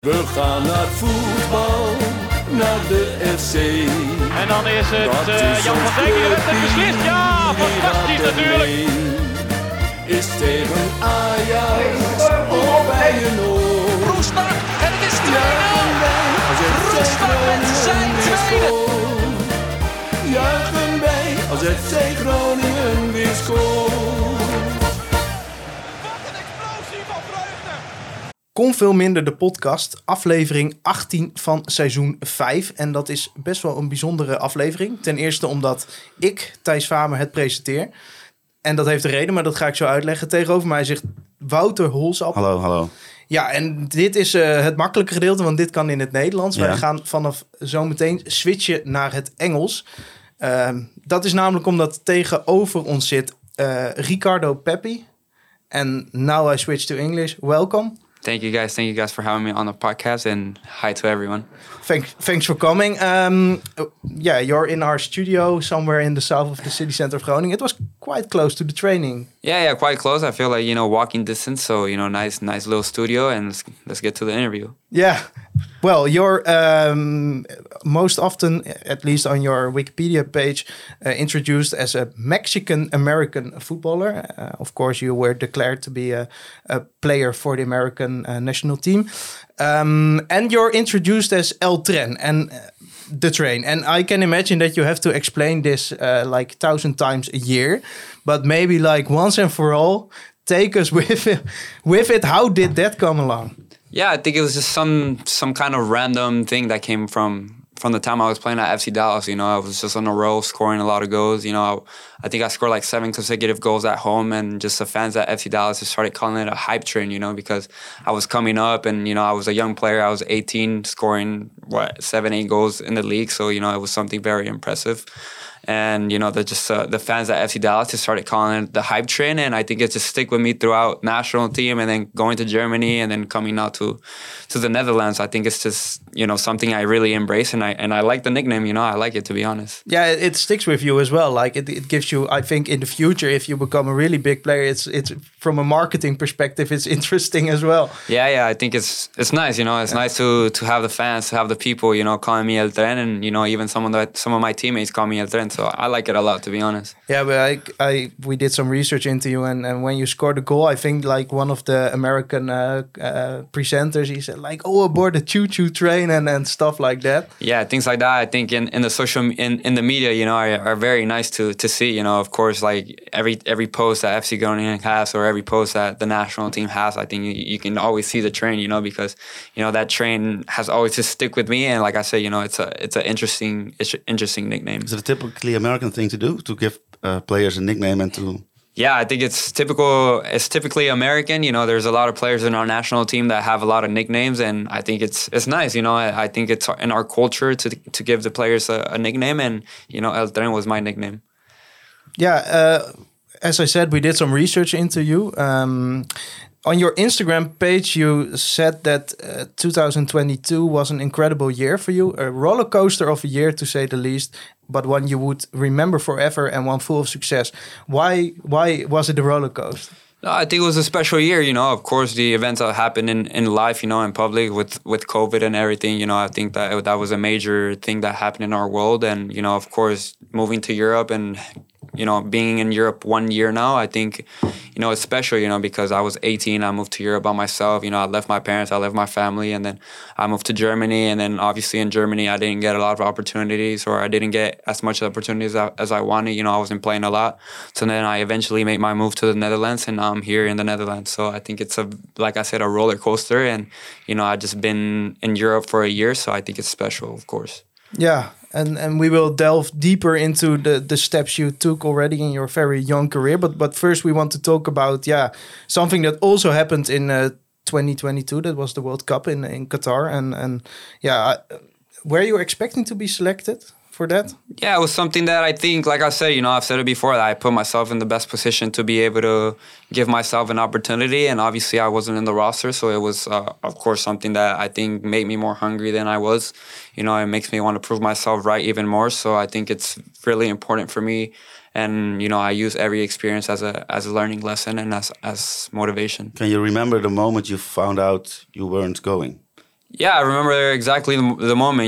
We gaan naar voetbal, naar de FC. En dan is het Jan van Dijk die de wedstrijd beslist. Ja, fantastisch natuurlijk. Is tegen Ajax of bij een oor. Roestak en het is 2-0. Roestak met zijn tweede. Juichen wij als FC Groningen weer scoort. Kon veel minder de podcast, aflevering 18 van seizoen 5. En dat is best wel een bijzondere aflevering. Ten eerste omdat ik, Thijs Famer, het presenteer. En dat heeft een reden, maar dat ga ik zo uitleggen. Tegenover mij zegt Wouter Holsap. Hallo. Ja, en dit is het makkelijke gedeelte, want dit kan in het Nederlands. Ja. Wij gaan vanaf zometeen switchen naar het Engels. Dat is namelijk omdat tegenover ons zit Ricardo Pepi. En now I switch to English. Welcome. Thank you guys for having me on the podcast, and hi to everyone. Thanks for coming. You're in our studio somewhere in the south of the city center of Groningen. It was quite close to the training. Yeah, quite close. I feel like, walking distance. So, nice little studio, and let's get to the interview. Yeah. Well, you're most often, at least on your Wikipedia page, introduced as a Mexican-American footballer. Of course, you were declared to be a player for the American national team. And you're introduced as El Tren and the train. And I can imagine that you have to explain this like 1,000 times a year. But maybe like once and for all, take us with it. How did that come along? Yeah, I think it was just some kind of random thing that came from the time I was playing at FC Dallas. I was just on a roll, scoring a lot of goals. I think I scored like 7 consecutive goals at home, and just the fans at FC Dallas just started calling it a hype train, because I was coming up and, I was a young player. I was 18, scoring, 7-8 goals in the league. So, it was something very impressive. And, the fans at FC Dallas just started calling it the hype train. And I think it just stick with me throughout national team and then going to Germany and then coming out to the Netherlands. I think it's just, something I really embrace. And I like the nickname, I like it, to be honest. Yeah, it sticks with you as well. Like it gives you, I think in the future, if you become a really big player, it's from a marketing perspective, it's interesting as well. Yeah, I think it's nice, it's nice to have the fans, to have the people, calling me El Tren, and, even some of my teammates call me El Tren. So I like it a lot, to be honest. Yeah, but we did some research into you, and when you scored a goal, I think like one of the American presenters, he said like, "Oh, aboard the choo-choo train," and stuff like that. Yeah, things like that. I think in the social in the media, are very nice to see. Of course, like every post that FC Groningen has or every post that the national team has, I think you can always see the train. Because that train has always just stick with me. And like I said, it's an interesting nickname. Is it a typically American thing to do, to give players a nickname and to... Yeah, I think it's typically American. There's a lot of players in our national team that have a lot of nicknames, and I think it's nice. I think it's in our culture to give the players a nickname, and El Tren was my nickname. Yeah, as I said, we did some research into you. On your Instagram page, you said that 2022 was an incredible year for you, a roller coaster of a year to say the least, but one you would remember forever and one full of success. Why was it a roller coaster? No, I think it was a special year, Of course, the events that happened in life, in public with COVID and everything, I think that was a major thing that happened in our world. And, of course, moving to Europe and, being in Europe 1 year now, I think, it's special, because I was 18, I moved to Europe by myself. I left my parents, I left my family, and then I moved to Germany. And then obviously in Germany, I didn't get a lot of opportunities, or I didn't get as much opportunities as I wanted. I wasn't playing a lot. So then I eventually made my move to the Netherlands, and now I'm here in the Netherlands. So I think it's like I said, a roller coaster. And, I've just been in Europe for a year, so I think it's special, of course. Yeah. And we will delve deeper into the steps you took already in your very young career. But first we want to talk about, something that also happened in 2022. That was the World Cup in Qatar. And were you expecting to be selected for that? Yeah, it was something that I think, like I said, I've said it before, that I put myself in the best position to be able to give myself an opportunity. And obviously I wasn't in the roster. So it was, of course, something that I think made me more hungry than I was. It makes me want to prove myself right even more. So I think it's really important for me. And, I use every experience as a learning lesson and as motivation. Can you remember the moment you found out you weren't going? Yeah, I remember exactly the moment.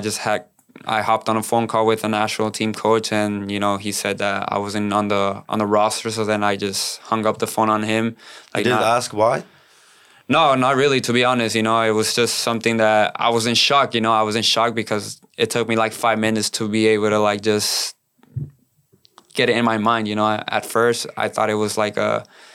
I hopped on a phone call with a national team coach, and he said that I wasn't on the roster. So then I just hung up the phone on him. You didn't ask why? No, not really. To be honest, it was just something that I was in shock. I was in shock because it took me like 5 minutes to be able to like just get it in my mind. At first I thought it was like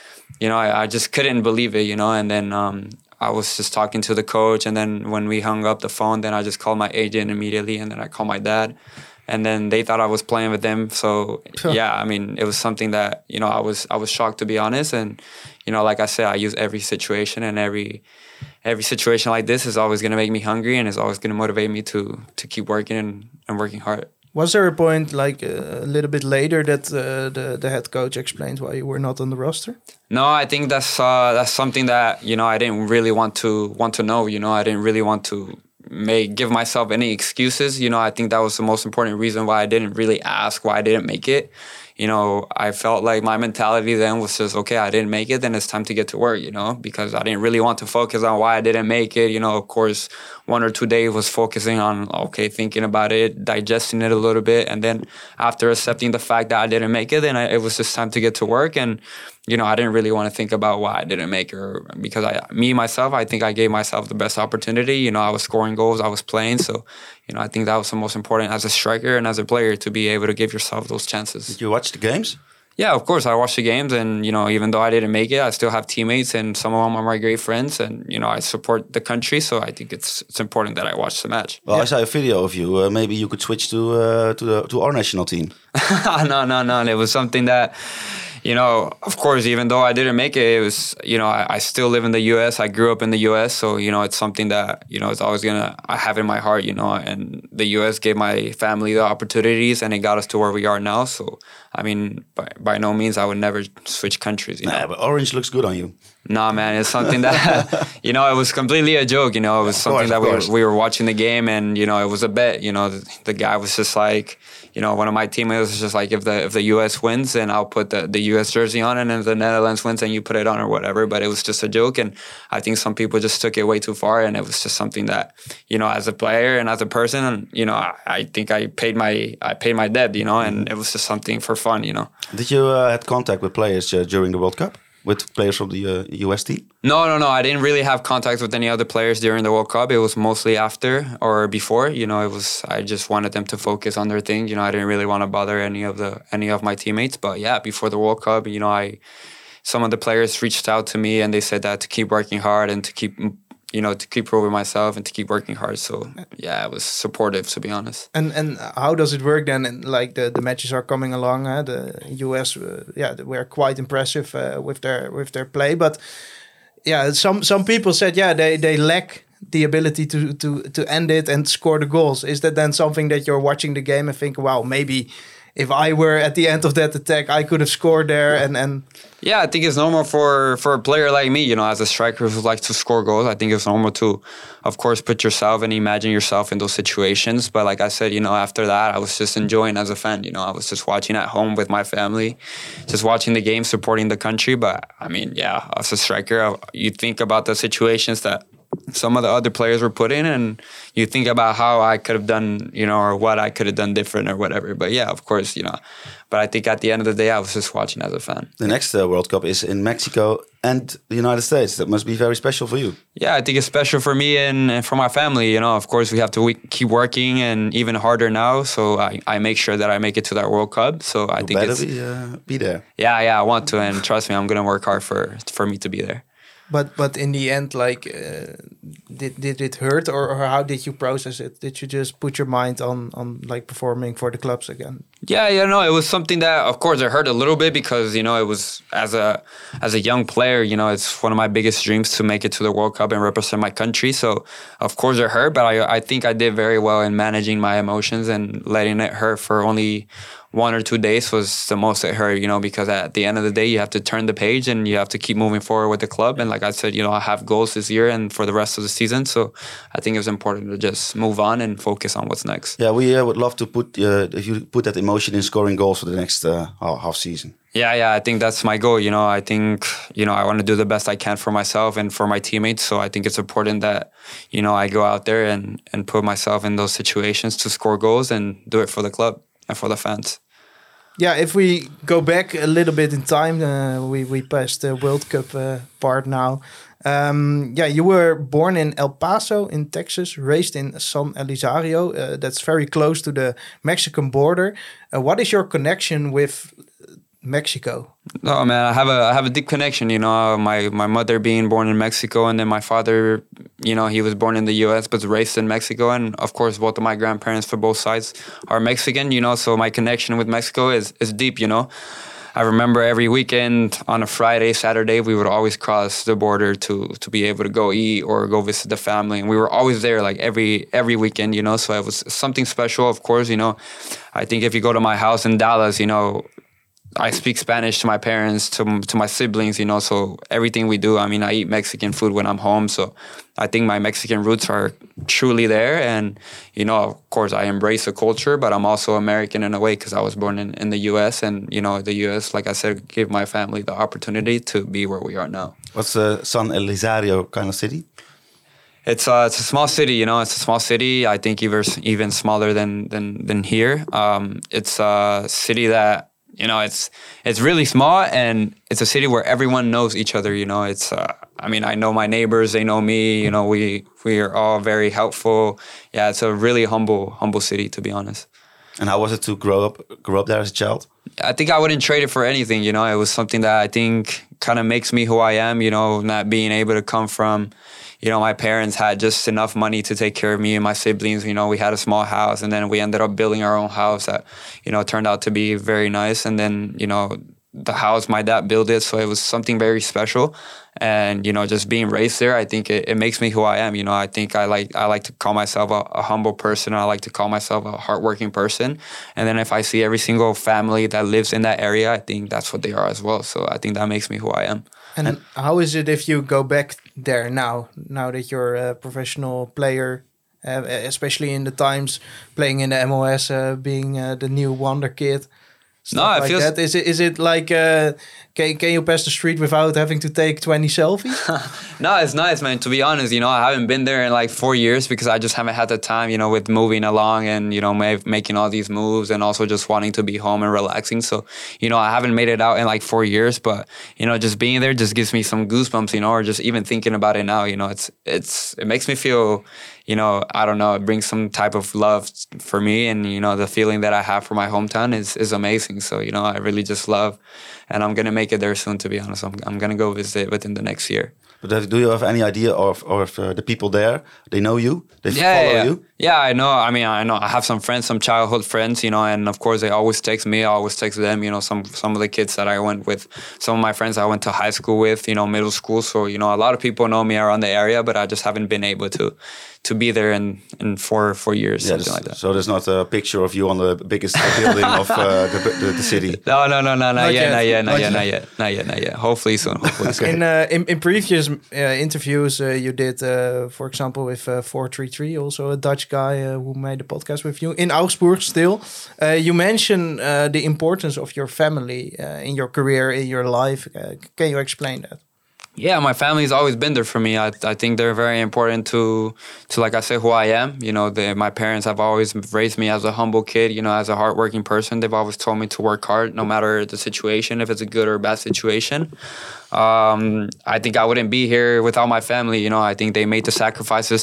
I just couldn't believe it. And then I was just talking to the coach, and then when we hung up the phone, then I just called my agent immediately, and then I called my dad, and then they thought I was playing with them. So yeah, it was something that I was shocked, to be honest. And like I said, I use every situation, and every situation like this is always going to make me hungry, and is always going to motivate me to keep working and working hard. Was there a point like a little bit later that the head coach explained why you were not on the roster? No, I think that's something that I didn't really want to know. I didn't really want to give myself any excuses. I think that was the most important reason why I didn't really ask why I didn't make it. I felt like my mentality then was just, okay, I didn't make it, then it's time to get to work, because I didn't really want to focus on why I didn't make it. Of course, 1 or 2 days was focusing on, thinking about it, digesting it a little bit. And then after accepting the fact that I didn't make it, then it was just time to get to work. And, I didn't really want to think about why I didn't make it, because I think I gave myself the best opportunity. I was scoring goals, I was playing. So, I think that was the most important as a striker and as a player, to be able to give yourself those chances. Did you watch the games? Yeah, of course, I watched the games, and even though I didn't make it, I still have teammates, and some of them are my great friends, and I support the country, so I think it's important that I watch the match. Well, I saw a video of you. Maybe you could switch to our national team. No. It was something that, of course, even though I didn't make it, it was, I still live in the U.S. I grew up in the U.S., so, it's something that, it's always I have in my heart, and the U.S. gave my family the opportunities, and it got us to where we are now. So, by no means, I would never switch countries. Nah, but orange looks good on you. Nah, man, it's something that, it was completely a joke, It was something that we were watching the game, and, it was a bet, the guy was just like, one of my teammates was just like, if the U.S. wins, then I'll put the U.S. jersey on, and if the Netherlands wins, then you put it on or whatever. But it was just a joke, and I think some people just took it way too far, and it was just something that, as a player and as a person, I think I paid my debt, and it was just something for fun, Did you had contact with players during the World Cup? With players from the US team? No. I didn't really have contact with any other players during the World Cup. It was mostly after or before. I just wanted them to focus on their thing. I didn't really want to bother any of my teammates. But yeah, before the World Cup, some of the players reached out to me, and they said that to keep working hard and to keep proving myself and to keep working hard. So yeah, it was supportive, to be honest. And how does it work then? And like the matches are coming along. The US, were quite impressive with their play. But yeah, some people said they lack the ability to end it and score the goals. Is that then something that you're watching the game and think, wow, maybe if I were at the end of that attack, I could have scored there and Yeah, I think it's normal for a player like me, as a striker who likes to score goals. I think it's normal to, of course, put yourself and imagine yourself in those situations. But like I said, after that, I was just enjoying as a fan. I was just watching at home with my family, just watching the game, supporting the country. But as a striker, you think about the situations that some of the other players were put in, and you think about how I could have done, or what I could have done different or whatever. But yeah, of course, but I think at the end of the day, I was just watching as a fan. The next World Cup is in Mexico and the United States. That must be very special for you. Yeah, I think it's special for me and for my family. Of course, we have to keep working, and even harder now. So I make sure that I make it to that World Cup. So I think it's be there. Yeah, I want to, and trust me, I'm going to work hard for me to be there. But in the end, like, did it hurt, or how did you process it? Did you just put your mind on like performing for the clubs again? Yeah, it was something that, of course, it hurt a little bit because, it was as a young player, it's one of my biggest dreams to make it to the World Cup and represent my country. So, of course, it hurt, but I think I did very well in managing my emotions and letting it hurt for only 1 or 2 days was the most it hurt, because at the end of the day, you have to turn the page and you have to keep moving forward with the club. And like I said, I have goals this year and for the rest of the season. So I think it was important to just move on and focus on what's next. Yeah, we would love to put if you put that emotion in scoring goals for the next half season. Yeah, I think that's my goal. I think, I want to do the best I can for myself and for my teammates. So I think it's important that, I go out there and put myself in those situations to score goals and do it for the club and for the fans. Yeah, if we go back a little bit in time, we passed the World Cup part now. You were born in El Paso in Texas, raised in San Elizario. That's very close to the Mexican border. What is your connection with Mexico? Oh man, I have a deep connection. My mother being born in Mexico, and then my father, he was born in the U.S. but raised in Mexico, and of course both of my grandparents for both sides are Mexican. So my connection with Mexico is deep. I remember every weekend on a Friday, Saturday, we would always cross the border to be able to go eat or go visit the family, and we were always there like every weekend. So it was something special. Of course, I think if you go to my house in Dallas, I speak Spanish to my parents, to my siblings, so everything we do, I eat Mexican food when I'm home. So I think my Mexican roots are truly there. And, of course, I embrace the culture, but I'm also American in a way because I was born in the U.S. And, the U.S., like I said, gave my family the opportunity to be where we are now. What's San Elizario kind of city? It's a small city, It's a small city. I think even smaller than here. It's a city that, it's really small, and it's a city where everyone knows each other. It's I know my neighbors, they know me. We are all very helpful. Yeah, it's a really humble city, to be honest. And how was it to grow up there as a child? I think I wouldn't trade it for anything. It was something that I think kind of makes me who I am. Not being able to come from. My parents had just enough money to take care of me and my siblings. We had a small house, and then we ended up building our own house that, turned out to be very nice. And then, the house, my dad built it, so it was something very special. And, just being raised there, I think it makes me who I am. I think I like to call myself a humble person. I like to call myself a hardworking person. And then if I see every single family that lives in that area, I think that's what they are as well. So I think that makes me who I am. And how is it if you go back there now that you're a professional player, especially in the times playing in the MLS, being the new wonder kid? No, it feels that. Is it like can you pass the street without having to take 20 selfies? No, it's nice, man. To be honest, I haven't been there in like 4 years because I just haven't had the time, with moving along and making all these moves and also just wanting to be home and relaxing. So I haven't made it out in like 4 years, but just being there just gives me some goosebumps, or just even thinking about it now, it makes me feel. I don't know, it brings some type of love for me, and, the feeling that I have for my hometown is amazing. So, I really just love, and I'm going to make it there soon, to be honest. I'm going to go visit within the next year. But do you have any idea of the people there? They know you? They follow you? Yeah, I know. I know. I have some friends, some childhood friends, and of course they always text me. I always text them, some of the kids that I went with, some of my friends I went to high school with, middle school. So, a lot of people know me around the area, but I just haven't been able to be there in 4 years, something like that. So there's not a picture of you on the biggest building of the city? No, not yet. Hopefully soon. In previous interviews you did, for example, with 433, also a Dutch guy who made a podcast with you in Augsburg still. You mentioned the importance of your family in your career, in your life. Can you explain that? Yeah, my family's always been there for me. I think they're very important to like I say, who I am. My parents have always raised me as a humble kid, as a hardworking person. They've always told me to work hard, no matter the situation, if it's a good or bad situation. I think I wouldn't be here without my family. I think they made the sacrifices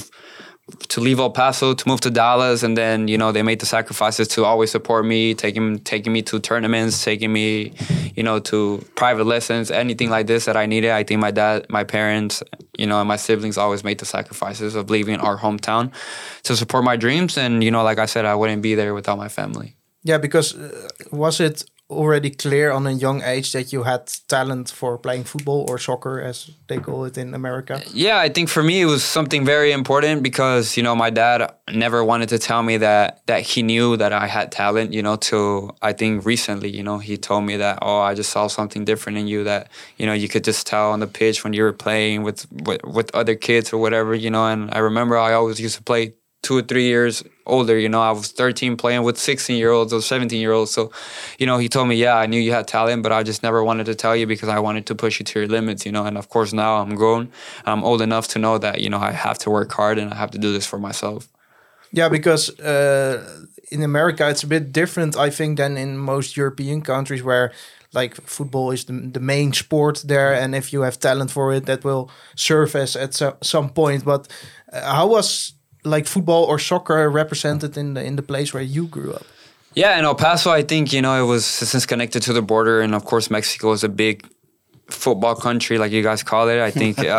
to leave El Paso, to move to Dallas, and then, they made the sacrifices to always support me, taking me to tournaments, taking me, to private lessons, anything like this that I needed. I think my dad, my parents, and my siblings always made the sacrifices of leaving our hometown to support my dreams. And, like I said, I wouldn't be there without my family. Yeah, because was it already clear on a young age that you had talent for playing football or soccer, as they call it in America? Yeah, I think for me it was something very important because, you know, my dad never wanted to tell me that he knew that I had talent, you know, till I think recently, you know, he told me that, oh, I just saw something different in you that, you know, you could just tell on the pitch when you were playing with other kids or whatever, you know. And I remember I always used to play 2 or 3 years older, you know. I was 13 playing with 16-year-olds or 17-year-olds. So, you know, he told me, yeah, I knew you had talent, but I just never wanted to tell you because I wanted to push you to your limits, you know. And of course now I'm grown. I'm old enough to know that, you know, I have to work hard and I have to do this for myself. Yeah, because in America it's a bit different, I think, than in most European countries where like football is the main sport there, and if you have talent for it, that will surface at some point. But how was like football or soccer represented in the place where you grew up? Yeah, in El Paso, I think, you know, it was since connected to the border, and of course Mexico is a big football country, like you guys call it. I think do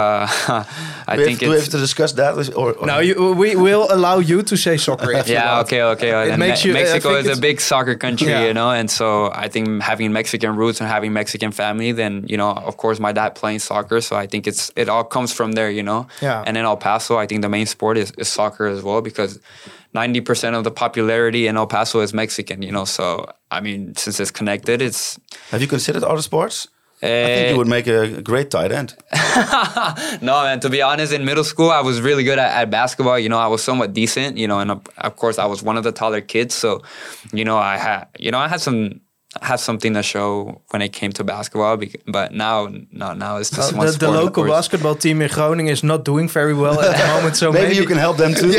we have to discuss that, or no? We will allow you to say soccer. If you want. Okay. It makes you, Mexico is a big soccer country, yeah. You know, and so I think having Mexican roots and having Mexican family, then, you know, of course my dad playing soccer, so I think it all comes from there, you know. Yeah. And in El Paso, I think the main sport is soccer as well, because 90% of the popularity in El Paso is Mexican, you know. So I mean, since it's connected, it's. Have you considered other sports? I think you would make a great tight end. No, man, to be honest, in middle school, I was really good at basketball. You know, I was somewhat decent, you know, and of course I was one of the taller kids. So, you know, I had something to show when it came to basketball, but now it's just one sport. The local basketball team in Groningen is not doing very well at the moment, so maybe you can help them too.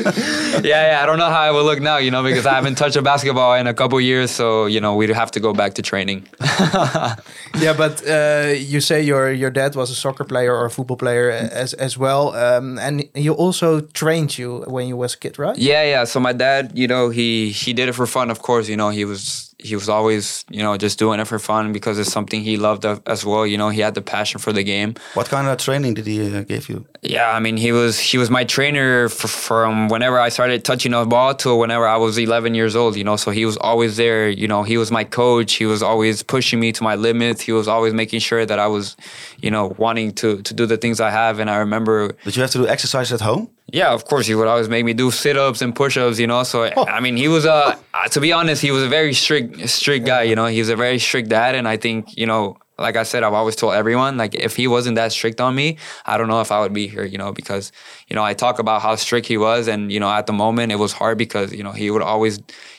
Yeah, I don't know how I will look now, you know, because I haven't touched a basketball in a couple of years, so, you know, we'd have to go back to training. Yeah, but you say your dad was a soccer player or a football player as well, and he also trained you when you was a kid, right? Yeah. So my dad, you know, he did it for fun, of course. You know, he was always, you know, just doing it for fun because it's something he loved as well. You know, he had the passion for the game. What kind of training did he give you? Yeah, I mean, he was my trainer from whenever I started touching a ball to whenever I was 11 years old, you know. So he was always there, you know. He was my coach. He was always pushing me to my limits. He was always making sure that I was, you know, wanting to do the things I have. And I remember... Did you have to do exercise at home? Yeah, of course. He would always make me do sit-ups and push-ups, you know. So, I mean, he was, to be honest, he was a very strict guy, you know. He was a very strict dad. And I think, you know, like I said, I've always told everyone, like, if he wasn't that strict on me, I don't know if I would be here, you know, because, you know, I talk about how strict he was. And, you know, at the moment it was hard because, you know, he would always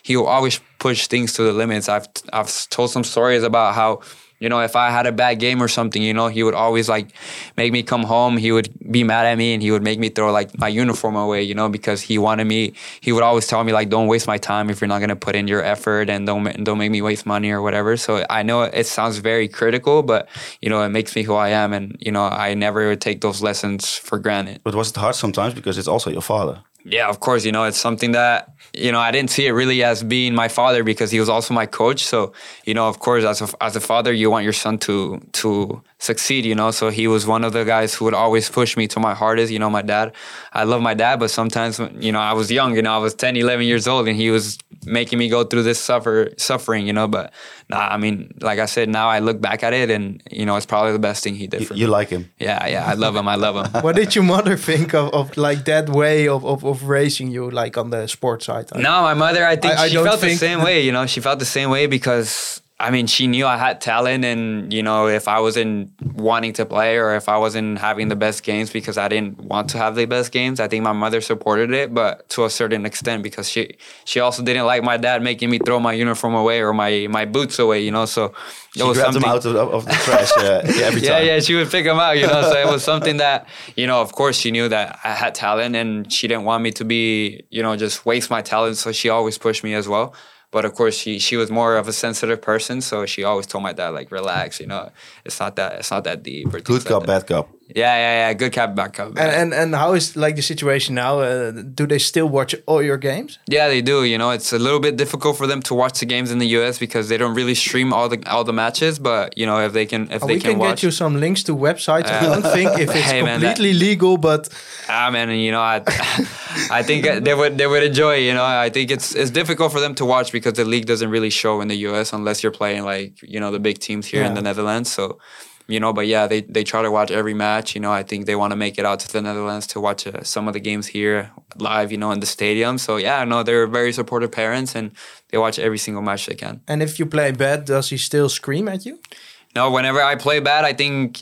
push things to the limits. I've told some stories about how, you know, if I had a bad game or something, you know, he would always like make me come home. He would be mad at me and he would make me throw like my uniform away, you know, because he would always tell me like, don't waste my time if you're not going to put in your effort, and don't make me waste money or whatever. So I know it sounds very critical, but, you know, it makes me who I am. And, you know, I never would take those lessons for granted. But was it hard sometimes because it's also your father? Yeah, of course. You know, it's something that, you know, I didn't see it really as being my father because he was also my coach. So, you know, of course, as a father, you want your son to succeed, you know. So he was one of the guys who would always push me to my hardest. You know, my dad, I love my dad, but sometimes, you know, I was young, you know, I was 10, 11 years old and he was making me go through this suffering, you know. But I mean, like I said, now I look back at it and, you know, it's probably the best thing he did for me. You like him? Yeah, I love him. What did your mother think of like that way of raising you, like on the sports side? No, my mother, I think she felt the same way, you know. She felt the same way because, I mean, she knew I had talent and, you know, if I wasn't wanting to play or if I wasn't having the best games because I didn't want to have the best games, I think my mother supported it, but to a certain extent because she also didn't like my dad making me throw my uniform away or my boots away, you know, so... She grabbed them out of the trash every time. Yeah, she would pick them out, you know, so it was something that, you know, of course she knew that I had talent and she didn't want me to be, you know, just waste my talent, so she always pushed me as well. But of course, she was more of a sensitive person, so she always told my dad, like, relax, you know, it's not that deep. Or good cup, bad cup. Yeah, good cup, bad cup. And how is like the situation now? Do they still watch all your games? Yeah, they do. You know, it's a little bit difficult for them to watch the games in the US because they don't really stream all the matches. But you know, if they can we can watch, get you some links to websites. I don't think if it's completely legal, but man, you know, I think they would enjoy. You know, I think it's difficult for them to watch because the league doesn't really show in the U.S. unless you're playing like the big teams here in the Netherlands. So. But yeah, they try to watch every match. I think they want to make it out to the Netherlands to watch some of the games here live, in the stadium. So yeah, no, they're very supportive parents and they watch every single match they can. And if you play bad, does he still scream at you? No, whenever I play bad, I think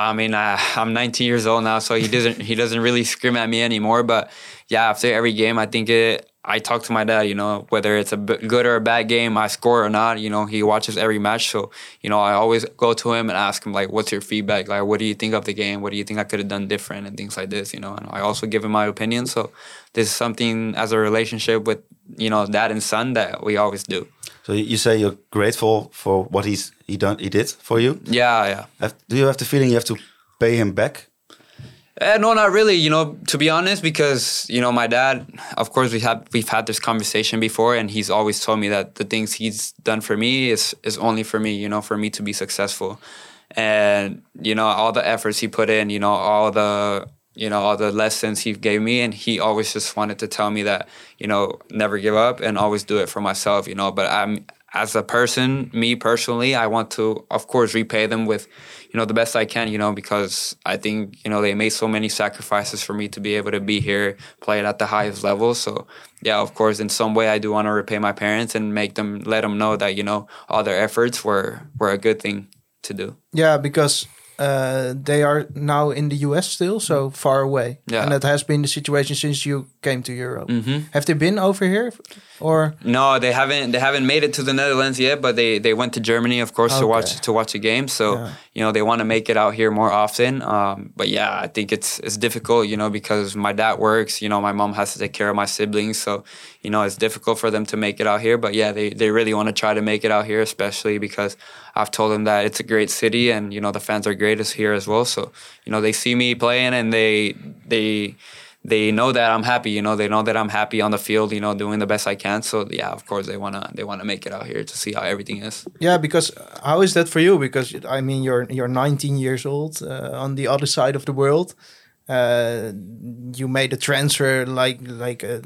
I'm 19 years old now, so he doesn't really scream at me anymore. But yeah, after every game, I think I talk to my dad, whether it's a good or a bad game, I score or not, he watches every match. So, I always go to him and ask him, like, what's your feedback? Like, what do you think of the game? What do you think I could have done different and things like this, And I also give him my opinion. So this is something as a relationship with, dad and son that we always do. So you say you're grateful for what he did for you? Yeah. Do you have the feeling you have to pay him back? No, not really. To be honest, because my dad. Of course, we've had this conversation before, and he's always told me that the things he's done for me is only for me. For me to be successful, and all the efforts he put in. All the lessons he gave me, and he always just wanted to tell me that never give up and always do it for myself. But as a person, me personally, I want to, of course, repay them with, the best I can, because I think, they made so many sacrifices for me to be able to be here, play it at the highest level. So, yeah, of course, in some way, I do want to repay my parents and let them know that, all their efforts were a good thing to do. Yeah, because they are now in the US still, so far away. Yeah. And that has been the situation since you came to Europe. Mm-hmm. Have they been over here? Or no, they haven't made it to the Netherlands yet, but they went to Germany, of course, to watch a game. So they want to make it out here more often. But yeah, I think it's difficult, because my dad works. My mom has to take care of my siblings, so it's difficult for them to make it out here. But yeah, they really want to try to make it out here, especially because I've told them that it's a great city and the fans are great here as well. So they see me playing and they know that I'm happy, they know that I'm happy on the field, doing the best I can. So yeah, of course they wanna make it out here to see how everything is. Yeah, because how is that for you? Because I mean, you're 19 years old on the other side of the world. You made a transfer like a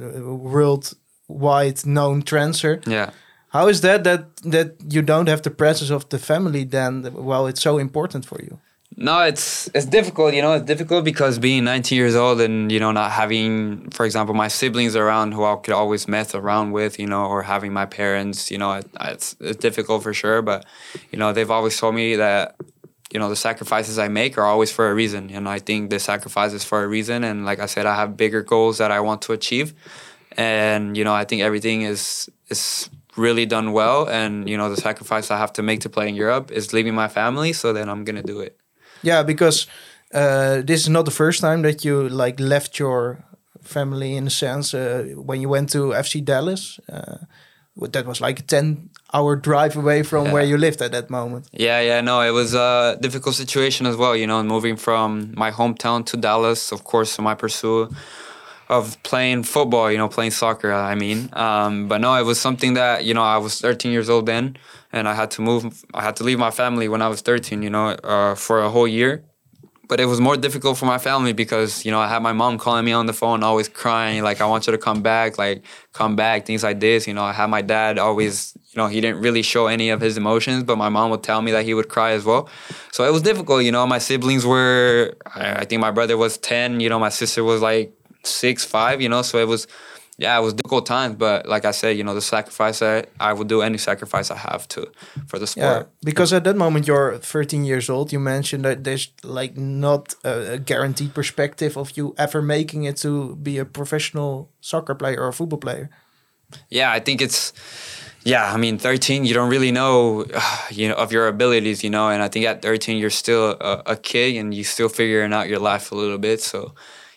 worldwide known transfer. Yeah. How is that you don't have the presence of the family then? Well, it's so important for you. No, it's difficult, It's difficult because being 19 years old and, not having, for example, my siblings around who I could always mess around with, or having my parents, it's difficult for sure. But, they've always told me that, the sacrifices I make are always for a reason. I think the sacrifice is for a reason. And like I said, I have bigger goals that I want to achieve. And, I think everything is really done well. And, the sacrifice I have to make to play in Europe is leaving my family. So then I'm going to do it. Yeah, because this is not the first time that you left your family in a sense. When you went to FC Dallas, that was like a 10-hour drive away from where you lived at that moment. Yeah, no, it was a difficult situation as well, moving from my hometown to Dallas, of course, my pursuit of playing football, playing soccer, I mean. But no, it was something that, I was 13 years old then, and I had to leave my family when I was 13, for a whole year. But it was more difficult for my family because, I had my mom calling me on the phone, always crying, like, I want you to come back, things like this. I had my dad always, he didn't really show any of his emotions, but my mom would tell me that he would cry as well. So it was difficult, my siblings were, I think my brother was 10, my sister was like 6, 5, so it was difficult times. But like I said, the sacrifice, I would do any sacrifice I have for the sport. Yeah, because at that moment you're 13 years old. You mentioned that there's not a guaranteed perspective of you ever making it to be a professional soccer player or a football player. Yeah, I think it's... Yeah, I mean, 13, you don't really know, of your abilities, and I think at 13 you're still a kid and you're still figuring out your life a little bit. So,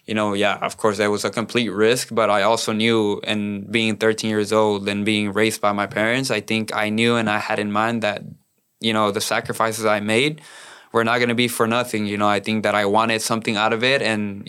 of course, that was a complete risk, but I also knew, and being 13 years old and being raised by my parents, I think I knew and I had in mind that, the sacrifices I made were not going to be for nothing. I think that I wanted something out of it, and,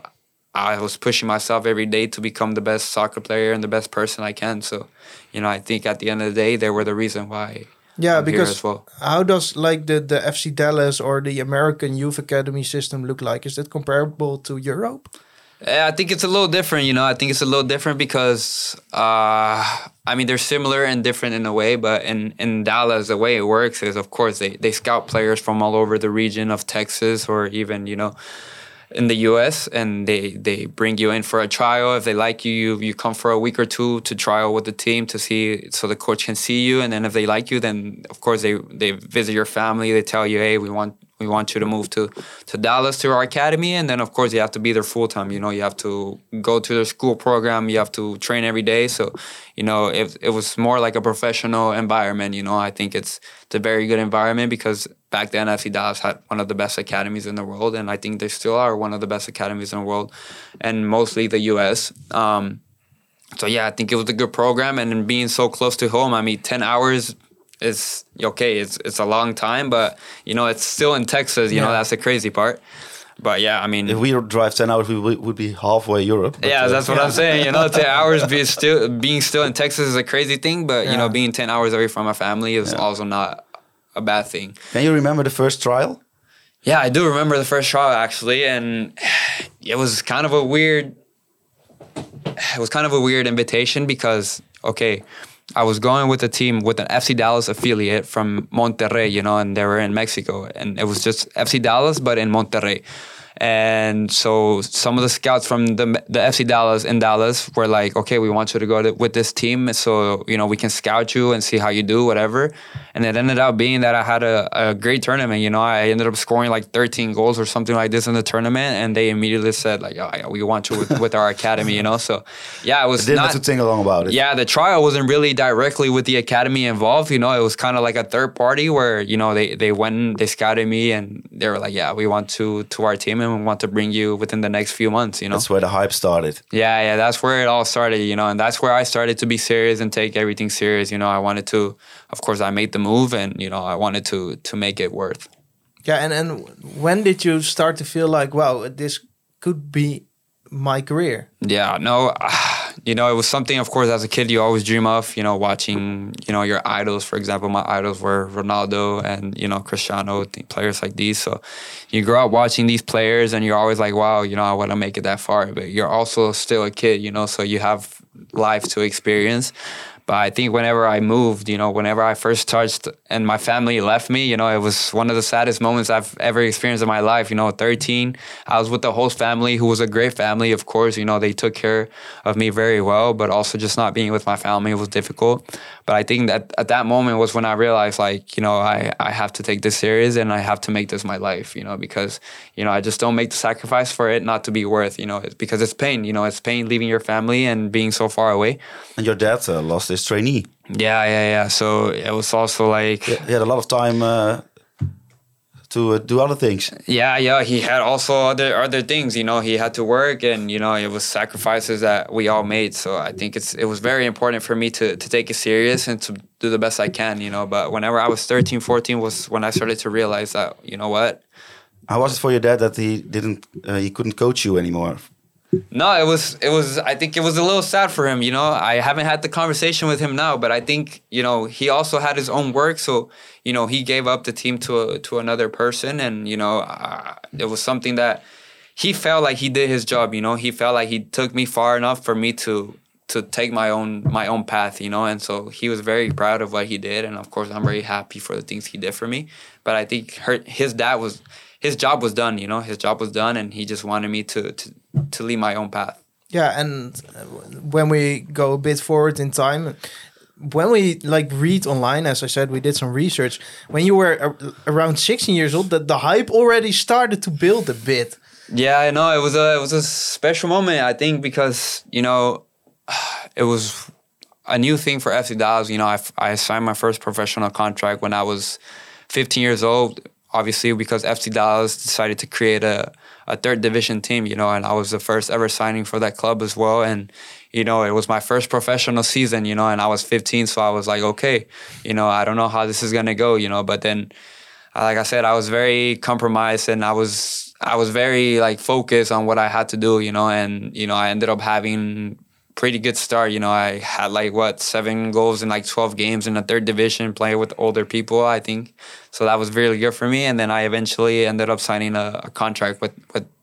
I was pushing myself every day to become the best soccer player and the best person I can. So, I think at the end of the day, they were the reason why. Yeah, I'm because here as well. How does the FC Dallas or the American youth academy system look like? Is that comparable to Europe? I think it's a little different, you know. I think it's a little different because, I mean, they're similar and different in a way. But in Dallas, the way it works is, of course, they scout players from all over the region of Texas or even, you know, in the U.S. and they bring you in for a trial. If they like you, you come for a week or two to trial with the team to see, so the coach can see you. And then if they like you, then of course they visit your family. They tell you, hey, we want you to move to Dallas to our academy. And then of course you have to be there full time. You know, you have to go to their school program. You have to train every day. So, you know, it was more like a professional environment. You know, I think it's a very good environment because back then FC Dallas had one of the best academies in the world, and I think they still are one of the best academies in the world, and mostly the U.S. So yeah, I think it was a good program, and then being so close to home. I mean, 10 hours is okay. It's a long time, but you know, it's still in Texas. You know, that's the crazy part. But yeah, I mean, if we drive 10 hours, we would be halfway Europe. But, yeah, that's what I'm saying. You know, 10 hours being still in Texas is a crazy thing, but you know, being 10 hours away from my family is also not a bad thing. Can you remember the first trial? Yeah, I do remember the first trial actually, and it was kind of a weird invitation because I was going with a team with an FC Dallas affiliate from Monterrey, you know, and they were in Mexico, and it was just FC Dallas but in Monterrey. And so some of the scouts from the FC Dallas in Dallas were like, okay, we want you to go with this team so, you know, we can scout you and see how you do, whatever. And it ended up being that I had a great tournament. You know, I ended up scoring like 13 goals or something like this in the tournament. And they immediately said like, oh, yeah, we want you with our academy, you know. So, yeah, it was didn't have to think along about it. Yeah, the trial wasn't really directly with the academy involved. You know, it was kind of like a third party where, you know, they went, they scouted me and they were like, yeah, we want to our team and we want to bring you within the next few months, you know. That's where the hype started. Yeah, that's where it all started, you know, and that's where I started to be serious and take everything serious. You know, I wanted to, of course, I made the move and, you know, I wanted to make it worth. Yeah, and when did you start to feel like, wow, this could be my career? Yeah, no, you know, it was something, of course, as a kid, you always dream of, you know, watching, you know, your idols. For example, my idols were Ronaldo and, you know, Cristiano, players like these. So you grow up watching these players and you're always like, wow, you know, I want to make it that far. But you're also still a kid, you know, so you have life to experience. But I think whenever I moved, you know, whenever I first touched and my family left me, you know, it was one of the saddest moments I've ever experienced in my life. You know, 13, I was with the host family, who was a great family, of course. You know, they took care of me very well, but also just not being with my family was difficult. But I think that at that moment was when I realized, like, you know, I have to take this serious and I have to make this my life, you know, because, you know, I just don't make the sacrifice for it not to be worth, you know, because it's pain, you know, it's pain leaving your family and being so far away. And your dad lost his trainee. Yeah. So it was also like... He had a lot of time to do other things. Yeah. He had also other things, you know. He had to work and, you know, it was sacrifices that we all made. So I think it was very important for me to take it serious and to do the best I can, you know. But whenever I was 13, 14 was when I started to realize that, you know what? How was it for your dad that he couldn't coach you anymore? No, it was. I think it was a little sad for him. You know, I haven't had the conversation with him now, but I think, you know, he also had his own work. So, you know, he gave up the team to another person, and you know, it was something that he felt like he did his job. You know, he felt like he took me far enough for me to take my own path. You know, and so he was very proud of what he did, and of course, I'm very happy for the things he did for me. But I think his job was done, you know. His job was done, and he just wanted me to lead my own path. Yeah, and when we go a bit forward in time, when we like read online, as I said, we did some research. When you were around 16 years old, the hype already started to build a bit. Yeah, I know. It was a special moment, I think, because, you know, it was a new thing for FC Dallas. You know, I signed my first professional contract when I was 15 years old. Obviously, because FC Dallas decided to create a third division team, you know, and I was the first ever signing for that club as well. And, you know, it was my first professional season, you know, and I was 15. So I was like, okay, you know, I don't know how this is going to go, you know, but then, like I said, I was very compromised and I was very like focused on what I had to do, you know, and, you know, I ended up having pretty good start. You know, I had like 7 goals in like 12 games in the third division, playing with older people, I think. So that was really good for me. And then I eventually ended up signing a contract with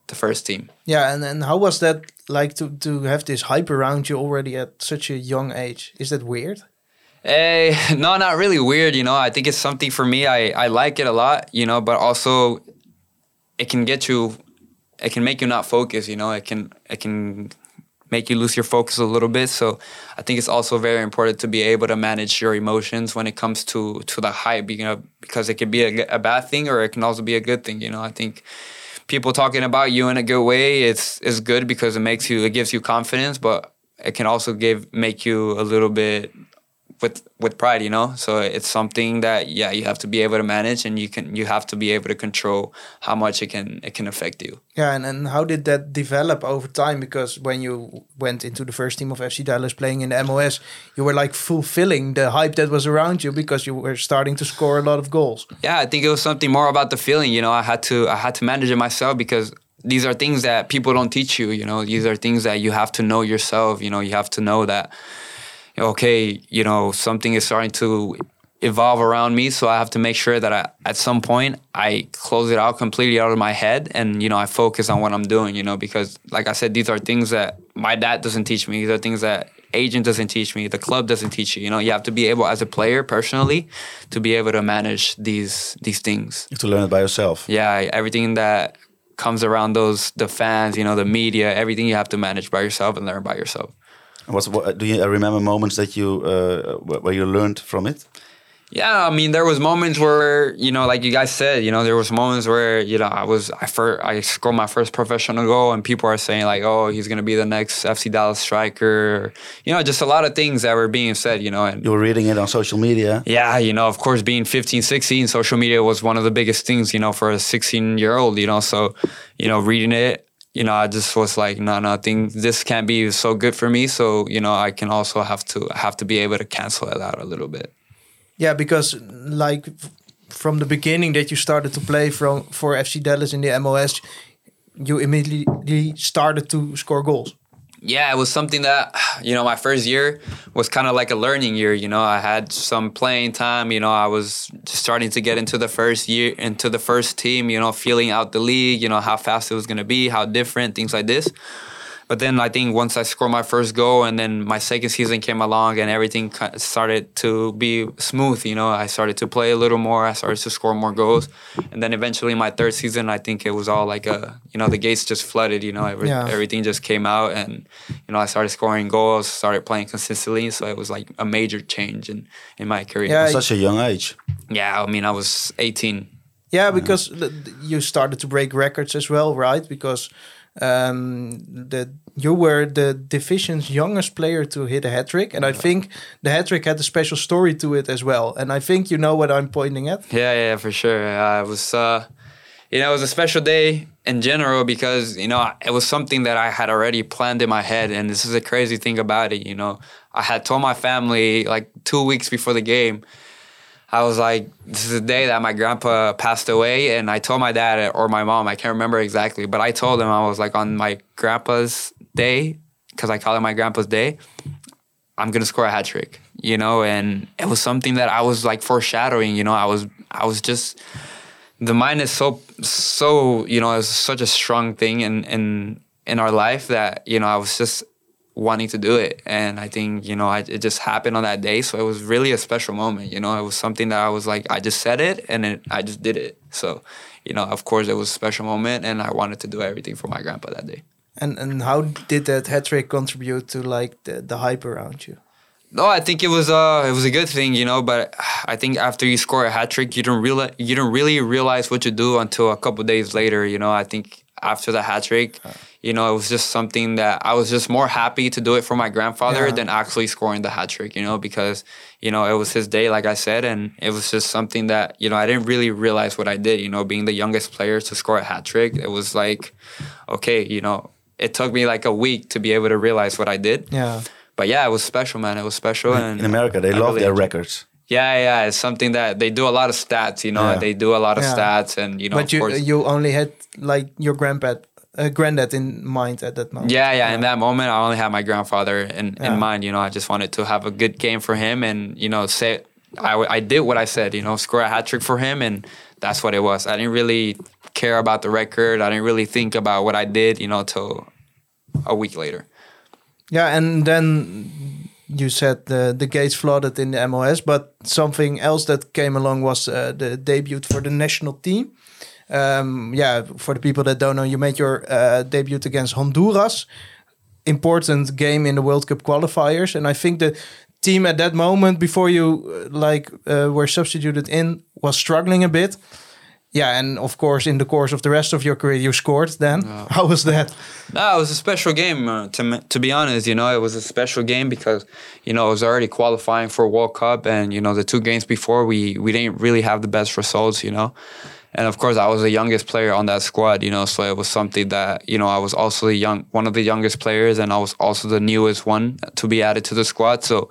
the first team. Yeah, and how was that like to have this hype around you already at such a young age? Is that weird? No, not really weird. I think it's something for me. I like it a lot. But also it can make you not focus. It can make you lose your focus a little bit. So I think it's also very important to be able to manage your emotions when it comes to the hype, because it can be a bad thing or it can also be a good thing. I think people talking about you in a good way, it's good because it gives you confidence, but it can also make you a little bit with pride, So it's something that you have to be able to manage, and you have to be able to control how much it can affect you. Yeah, and how did that develop over time? Because when you went into the first team of FC Dallas playing in the MLS, you were like fulfilling the hype that was around you because you were starting to score a lot of goals. Yeah, I think it was something more about the feeling. I had to manage it myself because these are things that people don't teach you. These are things that you have to know yourself. You have to know that. Okay, something is starting to evolve around me, so I have to make sure that at some point I close it out completely out of my head and, I focus on what I'm doing, because like I said, these are things that my dad doesn't teach me. These are things that agent doesn't teach me. The club doesn't teach you. You have to be able, as a player personally, to be able to manage these things. You have to learn it by yourself. Yeah, everything that comes around the fans, the media, everything you have to manage by yourself and learn by yourself. What do you remember moments that you where you learned from it? Yeah, there was moments where, like you guys said, there was moments where, I scored my first professional goal and people are saying like, oh, he's going to be the next FC Dallas striker. Just a lot of things that were being said, And you were reading it on social media. Yeah, of course, being 15, 16, social media was one of the biggest things, for a 16-year-old, So, reading it, I just was like, no, I think this can't be so good for me. So, I can also have to be able to cancel it out a little bit. Yeah, because like from the beginning that you started to play for FC Dallas in the MLS, you immediately started to score goals. Yeah, it was something that, my first year was kind of like a learning year. I had some playing time. I was just starting to get into the first team, feeling out the league, how fast it was going to be, how different, things like this. But then I think once I scored my first goal and then my second season came along and everything started to be smooth, I started to play a little more. I started to score more goals. And then eventually my third season, I think it was all like the gates just flooded, everything just came out and, I started scoring goals, started playing consistently. So it was like a major change in my career. Yeah, at such a young age. Yeah, I was 18. Yeah, because you started to break records as well, right? Because you were the division's youngest player to hit a hat-trick, and I think the hat-trick had a special story to it as well, and I think you know what I'm pointing at. Yeah, for sure. It was it was a special day in general because it was something that I had already planned in my head, and this is a crazy thing about it. I had told my family like 2 weeks before the game. I was like, this is the day that my grandpa passed away. And I told my dad or my mom, I can't remember exactly, but I told him, I was like, on my grandpa's day, because I call it my grandpa's day, I'm going to score a hat trick, and it was something that I was like foreshadowing, I was just, the mind is so, it's such a strong thing in our life that, I was just wanting to do it. And I think, it just happened on that day. So it was really a special moment. It was something that I was like, I just said it and I just did it. So, of course it was a special moment and I wanted to do everything for my grandpa that day. And how did that hat-trick contribute to like the hype around you? No, I think it was a good thing, but I think after you score a hat-trick, you don't really realize what you do until a couple of days later. I think after the hat-trick, it was just something that I was just more happy to do it for my grandfather than actually scoring the hat-trick, because, it was his day, like I said, and it was just something that, I didn't really realize what I did, being the youngest player to score a hat-trick. It was like, okay, it took me like a week to be able to realize what I did. Yeah. But yeah, it was special, man. It was special. And in America, they love their records. Yeah. It's something that they do a lot of stats, They do a lot of stats and, But you only had like your granddad in mind at that moment. Yeah. In that moment, I only had my grandfather in mind. I just wanted to have a good game for him and, say I did what I said, score a hat trick for him. And that's what it was. I didn't really care about the record. I didn't really think about what I did, till a week later. Yeah, and then you said the gates flooded in the MLS, but something else that came along was the debut for the national team. For the people that don't know, you made your debut against Honduras. Important game in the World Cup qualifiers. And I think the team at that moment, before you were substituted in, was struggling a bit. Yeah, and of course, in the course of the rest of your career, you scored then. How was that? No, it was a special game, to be honest. It was a special game because, it was already qualifying for World Cup. And, the 2 games before, we didn't really have the best results, And, of course, I was the youngest player on that squad, so it was something that, I was also one of the youngest players, and I was also the newest one to be added to the squad. So,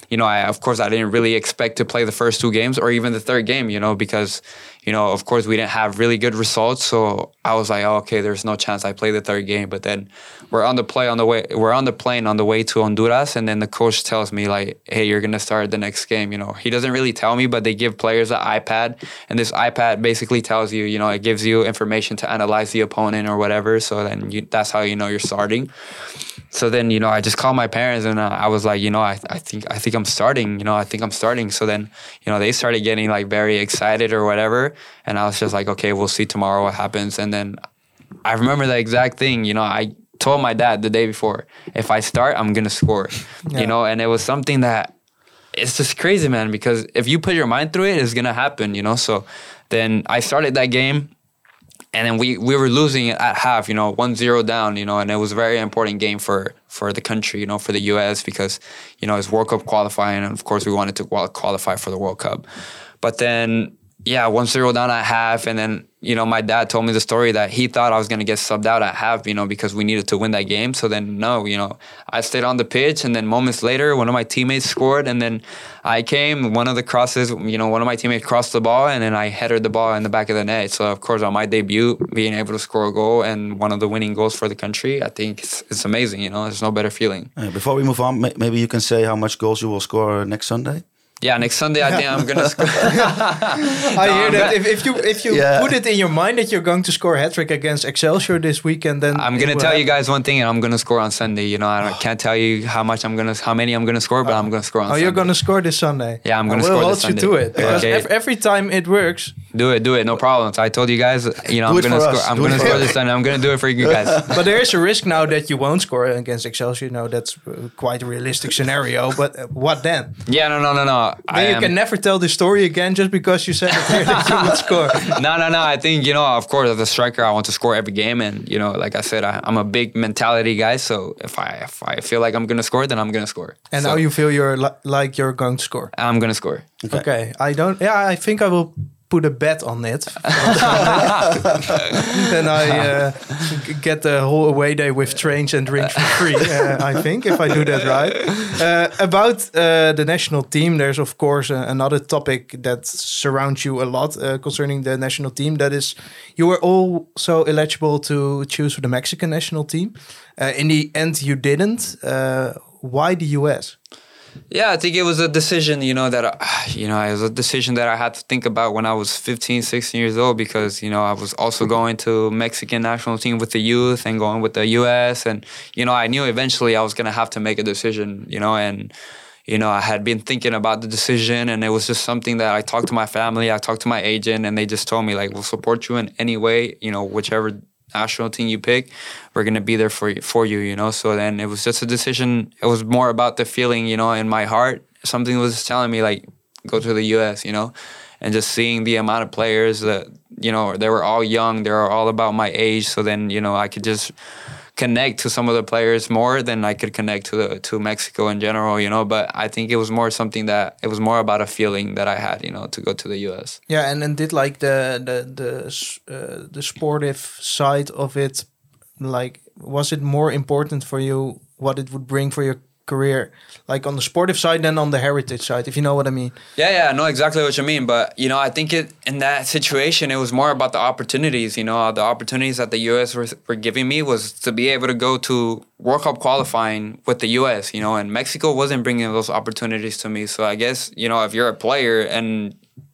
I didn't really expect to play the first 2 games or even the third game, because, of course, we didn't have really good results. So I was like, okay, there's no chance I play the third game. But then we're on the plane on the way to Honduras, and then the coach tells me like, hey, you're gonna start the next game. He doesn't really tell me, but they give players an iPad, and this iPad basically tells you, it gives you information to analyze the opponent or whatever. So then that's how you're starting. So then, I just called my parents and I was like, I think I'm starting, I think I'm starting. So then, they started getting like very excited or whatever. And I was just like, okay, we'll see tomorrow what happens. And then I remember the exact thing, I told my dad the day before, if I start, I'm going to score, and it was something that it's just crazy, man, because if you put your mind through it, it's going to happen, So then I started that game. And then we were losing at half, 1-0 down, and it was a very important game for the country, for the U.S. because, it's World Cup qualifying. And, of course, we wanted to qualify for the World Cup. But then, 1-0 down at half. And then, my dad told me the story that he thought I was going to get subbed out at half, because we needed to win that game. So then, no, I stayed on the pitch. And then moments later, one of my teammates scored. And then I came, one of the crosses, one of my teammates crossed the ball. And then I headed the ball in the back of the net. So, of course, on my debut, being able to score a goal and one of the winning goals for the country, I think it's amazing. There's no better feeling. Before we move on, maybe you can say how much goals you will score next Sunday? Yeah, next Sunday I think I'm gonna score. I hear that. If you put it in your mind that you're going to score a hat-trick against Excelsior this weekend, then I'm gonna tell you guys one thing, and I'm gonna score on Sunday. I can't tell you how many I'm gonna score, but I'm gonna score on Sunday. You're gonna score this Sunday. Yeah, I'm gonna score this Sunday. We'll hold you to it because every time it works. Do it, no problem. So I told you guys, I'm gonna score. I'm gonna score this Sunday. I'm gonna do it for you guys. But there is a risk now that you won't score against Excelsior. That's quite a realistic scenario. But what then? Yeah, no. Then you can never tell the story again just because you said that you would score. No. I think, of course, as a striker, I want to score every game. And, like I said, I'm a big mentality guy. So if I feel like I'm going to score, then I'm going to score. And now you feel you're going to score? I'm going to score. Okay. I think I will put a bet on it. Then I get the whole away day with trains and drinks for free, I think, if I do that right. About the national team, there's, of course, another topic that surrounds you a lot concerning the national team. That is, you were also eligible to choose for the Mexican national team. In the end, you didn't. Why the US? Yeah, I think it was a decision, it was a decision that I had to think about when I was 15, 16 years old because, I was also going to Mexican national team with the youth and going with the U.S. And, I knew eventually I was going to have to make a decision, and, I had been thinking about the decision and it was just something that I talked to my family, I talked to my agent and they just told me, like, we'll support you in any way, whichever national team you pick, we're going to be there for you, So then it was just a decision. It was more about the feeling, in my heart. Something was telling me, like, go to the U.S., and just seeing the amount of players that, they were all young. They were all about my age. So then, I could just connect to some of the players more than I could connect to Mexico in general, But I think it was more something that it was more about a feeling that I had, to go to the U.S. Yeah, and did like the sportive side of it, like, was it more important for you what it would bring for your career, like on the sportive side than on the heritage side, if you know what I mean? Yeah, I know exactly what you mean. But, I think in that situation, it was more about the opportunities, the opportunities that the U.S. were giving me was to be able to go to World Cup qualifying with the U.S., and Mexico wasn't bringing those opportunities to me. So I guess, if you're a player and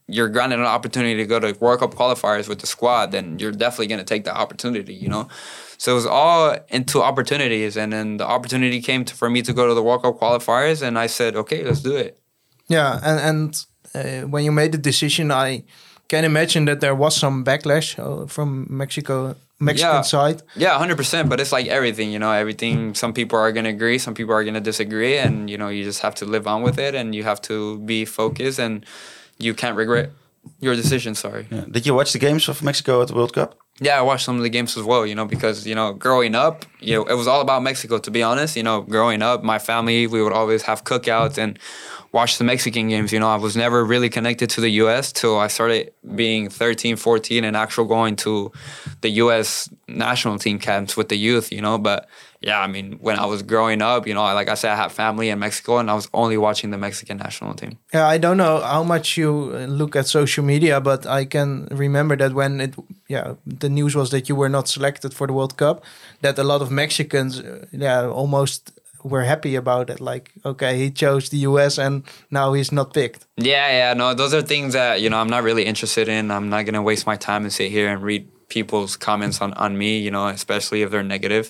you're granted an opportunity to go to World Cup qualifiers with the squad, then you're definitely going to take that opportunity, you know? So it was all into opportunities. And then the opportunity came for me to go to the World Cup qualifiers. And I said, okay, let's do it. Yeah, and when you made the decision, I can imagine that there was some backlash from Mexican side. Yeah, 100%. But it's like everything, you know, everything. Some people are going to agree, some people are going to disagree, and you know, you just have to live on with it, and you have to be focused, and you can't regret your decision. Sorry. Yeah. Did you watch the games of Mexico at the World Cup? Yeah, I watched some of the games as well, you know, because, you know, growing up, you know, it was all about Mexico, to be honest. You know, growing up, my family, we would always have cookouts and watch the Mexican games. You know, I was never really connected to the U.S. till I started being 13, 14 and actually going to the U.S. national team camps with the youth, you know. But, yeah, I mean, when I was growing up, you know, like I said, I had family in Mexico and I was only watching the Mexican national team. Yeah, I don't know how much you look at social media, but I can remember that when the news was that you were not selected for the World Cup, that a lot of Mexicans, almost were happy about it. Like, okay, he chose the US and now he's not picked. Yeah, no, those are things that, you know, I'm not really interested in. I'm not going to waste my time and sit here and read people's comments on me, you know, especially if they're negative.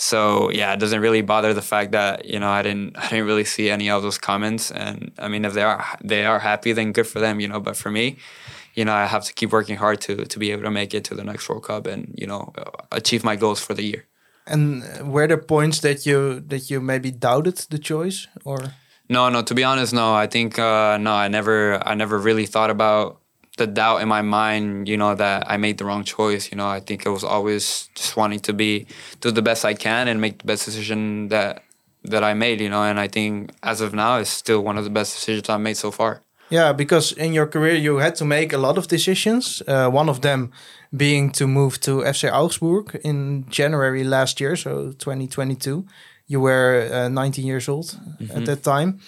So yeah, it doesn't really bother the fact that, you know, I didn't really see any of those comments. And I mean, if they are happy, then good for them, you know. But for me, you know, I have to keep working hard to be able to make it to the next World Cup and, you know, achieve my goals for the year. And were there points that you maybe doubted the choice, or? No, to be honest, no. I think no, I never really thought about the doubt in my mind, you know, that I made the wrong choice. You know, I think it was always just wanting to do the best I can and make the best decision that I made, you know. And I think as of now, it's still one of the best decisions I've made so far. Yeah, because in your career you had to make a lot of decisions. One of them being to move to FC Augsburg in January last year, so 2022. You were 19 years old at that time.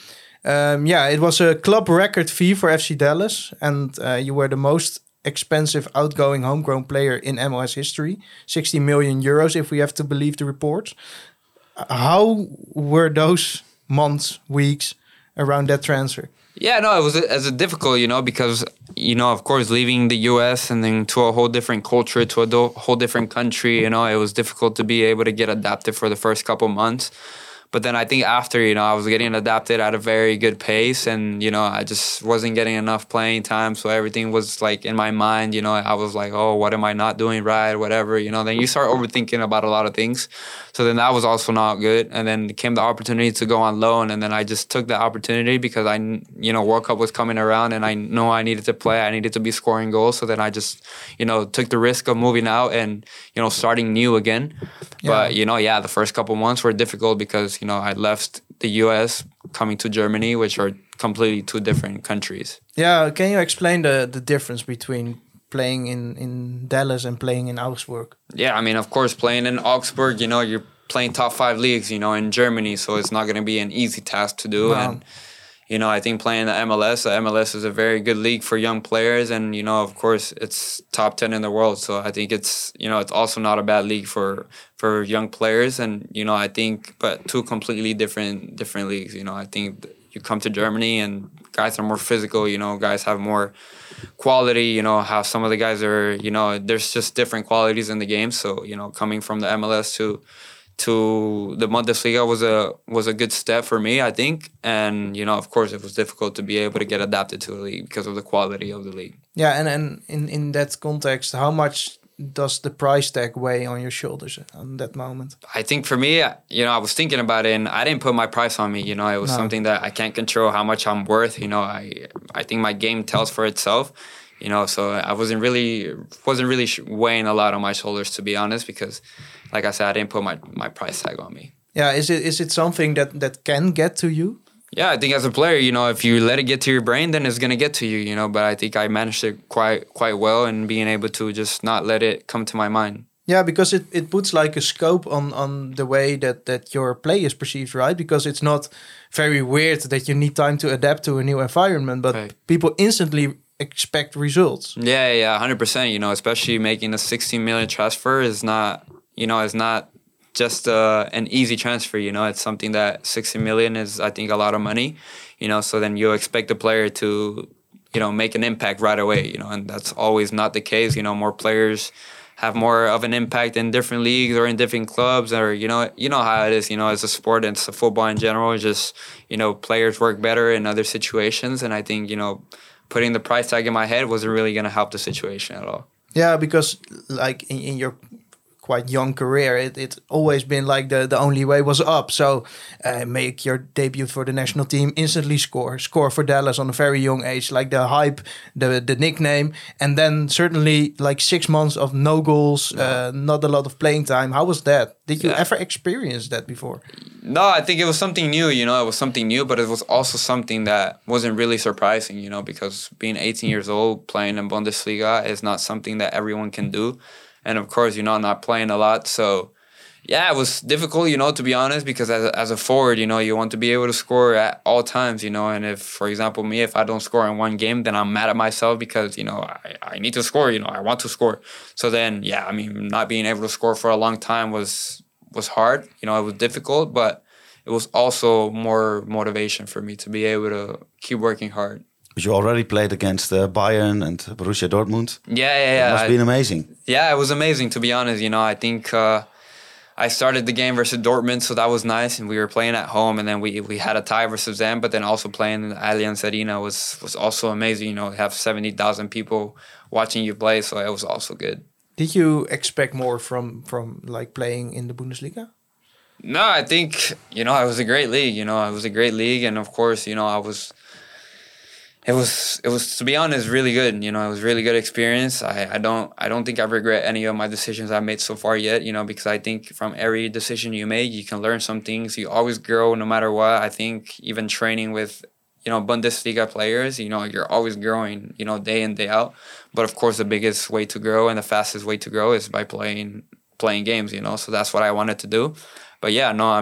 It was a club record fee for FC Dallas, and you were the most expensive outgoing homegrown player in MLS history, 60 million euros if we have to believe the reports. How were those months, weeks around that transfer? Yeah, no, it was difficult, you know, because, you know, of course, leaving the U.S. and then to a whole different culture, to a whole different country, you know, it was difficult to be able to get adapted for the first couple months. But then I think after, you know, I was getting adapted at a very good pace and, you know, I just wasn't getting enough playing time. So everything was like in my mind, you know, I was like, oh, what am I not doing right? Whatever, you know, then you start overthinking about a lot of things. So then that was also not good. And then came the opportunity to go on loan. And then I just took the opportunity because you know, World Cup was coming around and I know I needed to play. I needed to be scoring goals. So then I just, you know, took the risk of moving out and, you know, starting new again. Yeah. But, you know, the first couple months were difficult because, you know, I left the US coming to Germany, which are completely two different countries. Yeah, can you explain the difference between playing in Dallas and playing in Augsburg? Yeah, I mean, of course, playing in Augsburg, you know, you're playing top 5 leagues, you know, in Germany, so it's not going to be an easy task to do. Wow. And, you know, I think playing the MLS is a very good league for young players. And, you know, of course, it's top 10 in the world. So I think it's, you know, it's also not a bad league for young players. And, you know, I think, but two completely different leagues. You know, I think you come to Germany and guys are more physical, you know, guys have more quality, you know, how some of the guys are, you know, there's just different qualities in the game. So, you know, coming from the MLS to the Bundesliga was a good step for me, I think. And, you know, of course, it was difficult to be able to get adapted to a league because of the quality of the league. Yeah, and in that context, how much does the price tag weigh on your shoulders on that moment? I think for me, you know, I was thinking about it and I didn't put my price on me. You know, it was something that I can't control how much I'm worth. You know, I think my game tells for itself. You know, so I wasn't really weighing a lot on my shoulders, to be honest, because, like I said, I didn't put my price tag on me. Yeah, is it something that can get to you? Yeah, I think as a player, you know, if you let it get to your brain, then it's gonna get to you. You know, but I think I managed it quite well, and being able to just not let it come to my mind. Yeah, because it puts like a scope on the way that your play is perceived, right? Because it's not very weird that you need time to adapt to a new environment, but people instantly expect results. Yeah, 100%. You know, especially making a 16 million transfer is not just an easy transfer. You know, it's something that 60 million is, I think, a lot of money. You know, so then you expect the player to make an impact right away, and that's always not the case. More players have more of an impact in different leagues or in different clubs, or you know how it is. As a sport and it's a football in general, it's just players work better in other situations, and I think putting the price tag in my head wasn't really going to help the situation at all. Yeah, because like in your quite young career, it's always been like the only way was up. So make your debut for the national team, instantly score for Dallas on a very young age, like the hype, the nickname, and then certainly like 6 months of no goals, not a lot of playing time. How was that? Did you ever experience that before? No, I think it was something new, it was something new, but it was also something that wasn't really surprising, because being 18 years old, playing in Bundesliga is not something that everyone can do. And of course, I'm not playing a lot. So, yeah, it was difficult, to be honest, because as a forward, you want to be able to score at all times, and if, for example, if I don't score in one game, then I'm mad at myself because, I need to score, I want to score. So then, not being able to score for a long time was hard, it was difficult, but it was also more motivation for me to be able to keep working hard. But you already played against Bayern and Borussia Dortmund. Yeah. It must have been amazing. Yeah, it was amazing, to be honest. I think I started the game versus Dortmund, so that was nice. And we were playing at home, and then we had a tie versus them. But then also playing in the Allianz Arena was also amazing. Have 70,000 people watching you play, so it was also good. Did you expect more from like playing in the Bundesliga? No, I think, it was a great league. It was a great league. And of course, It was to be honest really good. It was a really good experience. I don't think I regret any of my decisions I've made so far yet. Because I think from every decision you make, you can learn some things. You always grow no matter what. I think even training with Bundesliga players, you're always growing, day in, day out. But of course, the biggest way to grow and the fastest way to grow is by playing games. So that's what I wanted to do. But yeah, no,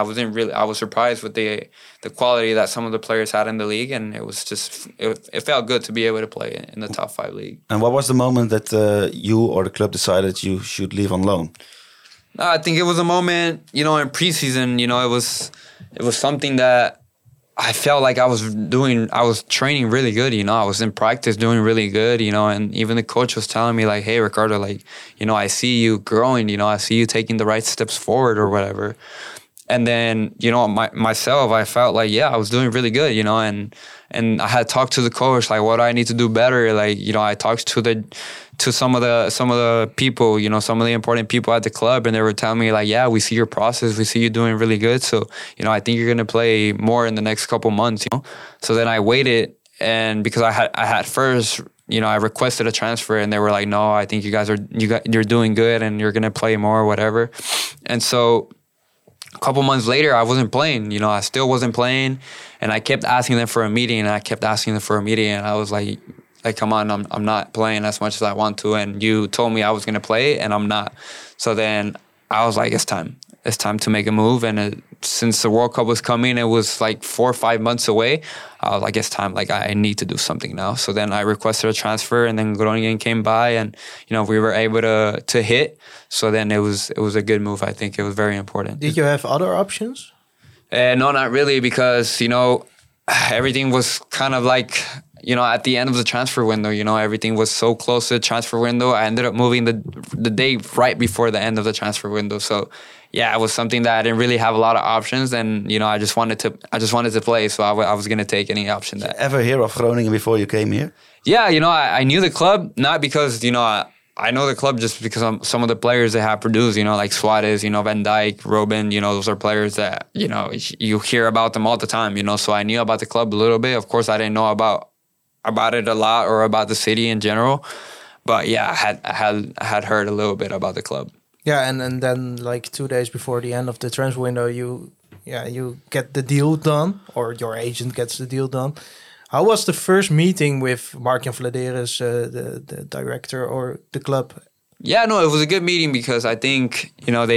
I was surprised with the quality that some of the players had in the league, and it was just, it felt good to be able to play in the top 5 league. And what was the moment that you or the club decided you should leave on loan? No, I think it was a moment, in preseason, it was something that I felt like I was training really good, I was in practice doing really good, and even the coach was telling me like, hey, Ricardo, like, I see you growing, I see you taking the right steps forward or whatever. And then, myself, I felt like, I was doing really good, and I had talked to the coach, like, what do I need to do better? Like, I talked to some of the people, some of the important people at the club, and they were telling me like, we see your process, we see you doing really good. So, I think you're going to play more in the next couple months, So then I waited, and because I had first, I requested a transfer, and they were like, no, I think you're doing good and you're going to play more or whatever. And so a couple months later, I wasn't playing, I still wasn't playing, and I kept asking them for a meeting, and I was like, come on, I'm not playing as much as I want to, and you told me I was going to play, and I'm not. So then I was like, it's time to make a move, and since the World Cup was coming, it was like 4 or 5 months away, I was like, it's time, like I need to do something now. So then I requested a transfer, and then Groningen came by, and we were able to hit. So then it was a good move. I think it was very important. Did you have other options? No, not really, because everything was kind of like, at the end of the transfer window, everything was so close to the transfer window. I ended up moving the day right before the end of the transfer window. So yeah, it was something that I didn't really have a lot of options, and I just wanted to play, so I was going to take any option. That. Did you ever hear of Groningen before you came here? Yeah, I knew the club, not because I know the club just because some of the players they have produced, like Suarez, Van Dijk, Robin, those are players that you hear about them all the time, so I knew about the club a little bit. Of course, I didn't know about it a lot or about the city in general, but yeah, I had heard a little bit about the club. Yeah, and then like 2 days before the end of the transfer window, you get the deal done, or your agent gets the deal done. How was the first meeting with Mark-Jan Vladeris, the director, or the club? Yeah, no, it was a good meeting because I think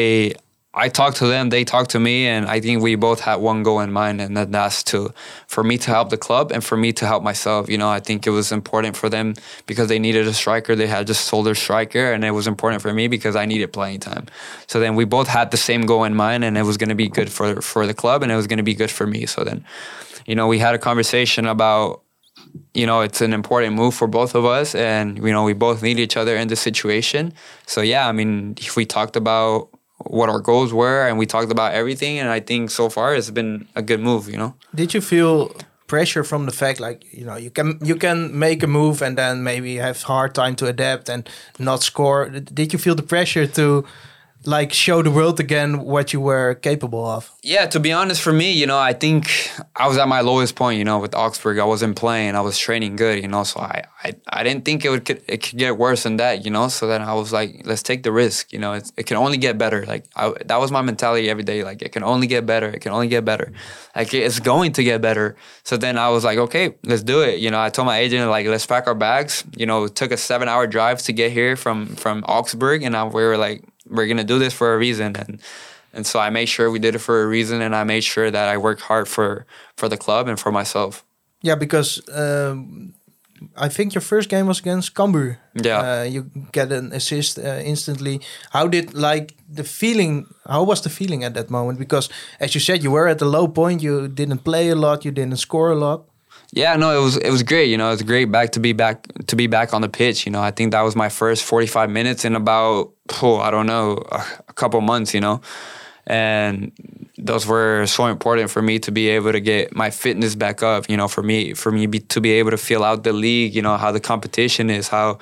I talked to them, they talked to me, and I think we both had one goal in mind, and that's for me to help the club and for me to help myself. I think it was important for them because they needed a striker. They had just sold their striker, and it was important for me because I needed playing time. So then we both had the same goal in mind, and it was going to be good for the club, and it was going to be good for me. So then, we had a conversation about it's an important move for both of us, and we both need each other in this situation. So yeah, I mean, we talked about what our goals were, and we talked about everything, and I think so far it's been a good move. Did you feel pressure from the fact, like, you can make a move and then maybe have hard time to adapt and not score? Did you feel the pressure to like show the world again what you were capable of? Yeah, to be honest, for me, I think I was at my lowest point, with Augsburg. I wasn't playing, I was training good, so I didn't think it could get worse than that, So then I was like, let's take the risk, it can only get better. Like that was my mentality every day. Like, it can only get better. It can only get better. Like, it's going to get better. So then I was like, okay, let's do it. I told my agent, like, let's pack our bags. It took a 7-hour drive to get here from Augsburg, and we were like, we're going to do this for a reason. And so I made sure we did it for a reason, and I made sure that I worked hard for the club and for myself. Yeah, because I think your first game was against Cambuur. Yeah. You get an assist instantly. How was the feeling at that moment? Because as you said, you were at a low point. You didn't play a lot. You didn't score a lot. Yeah, no, it was great. It was great to be back on the pitch. I think that was my first 45 minutes in about a couple months. And those were so important for me to be able to get my fitness back up. For me to be able to feel out the league. How the competition is, how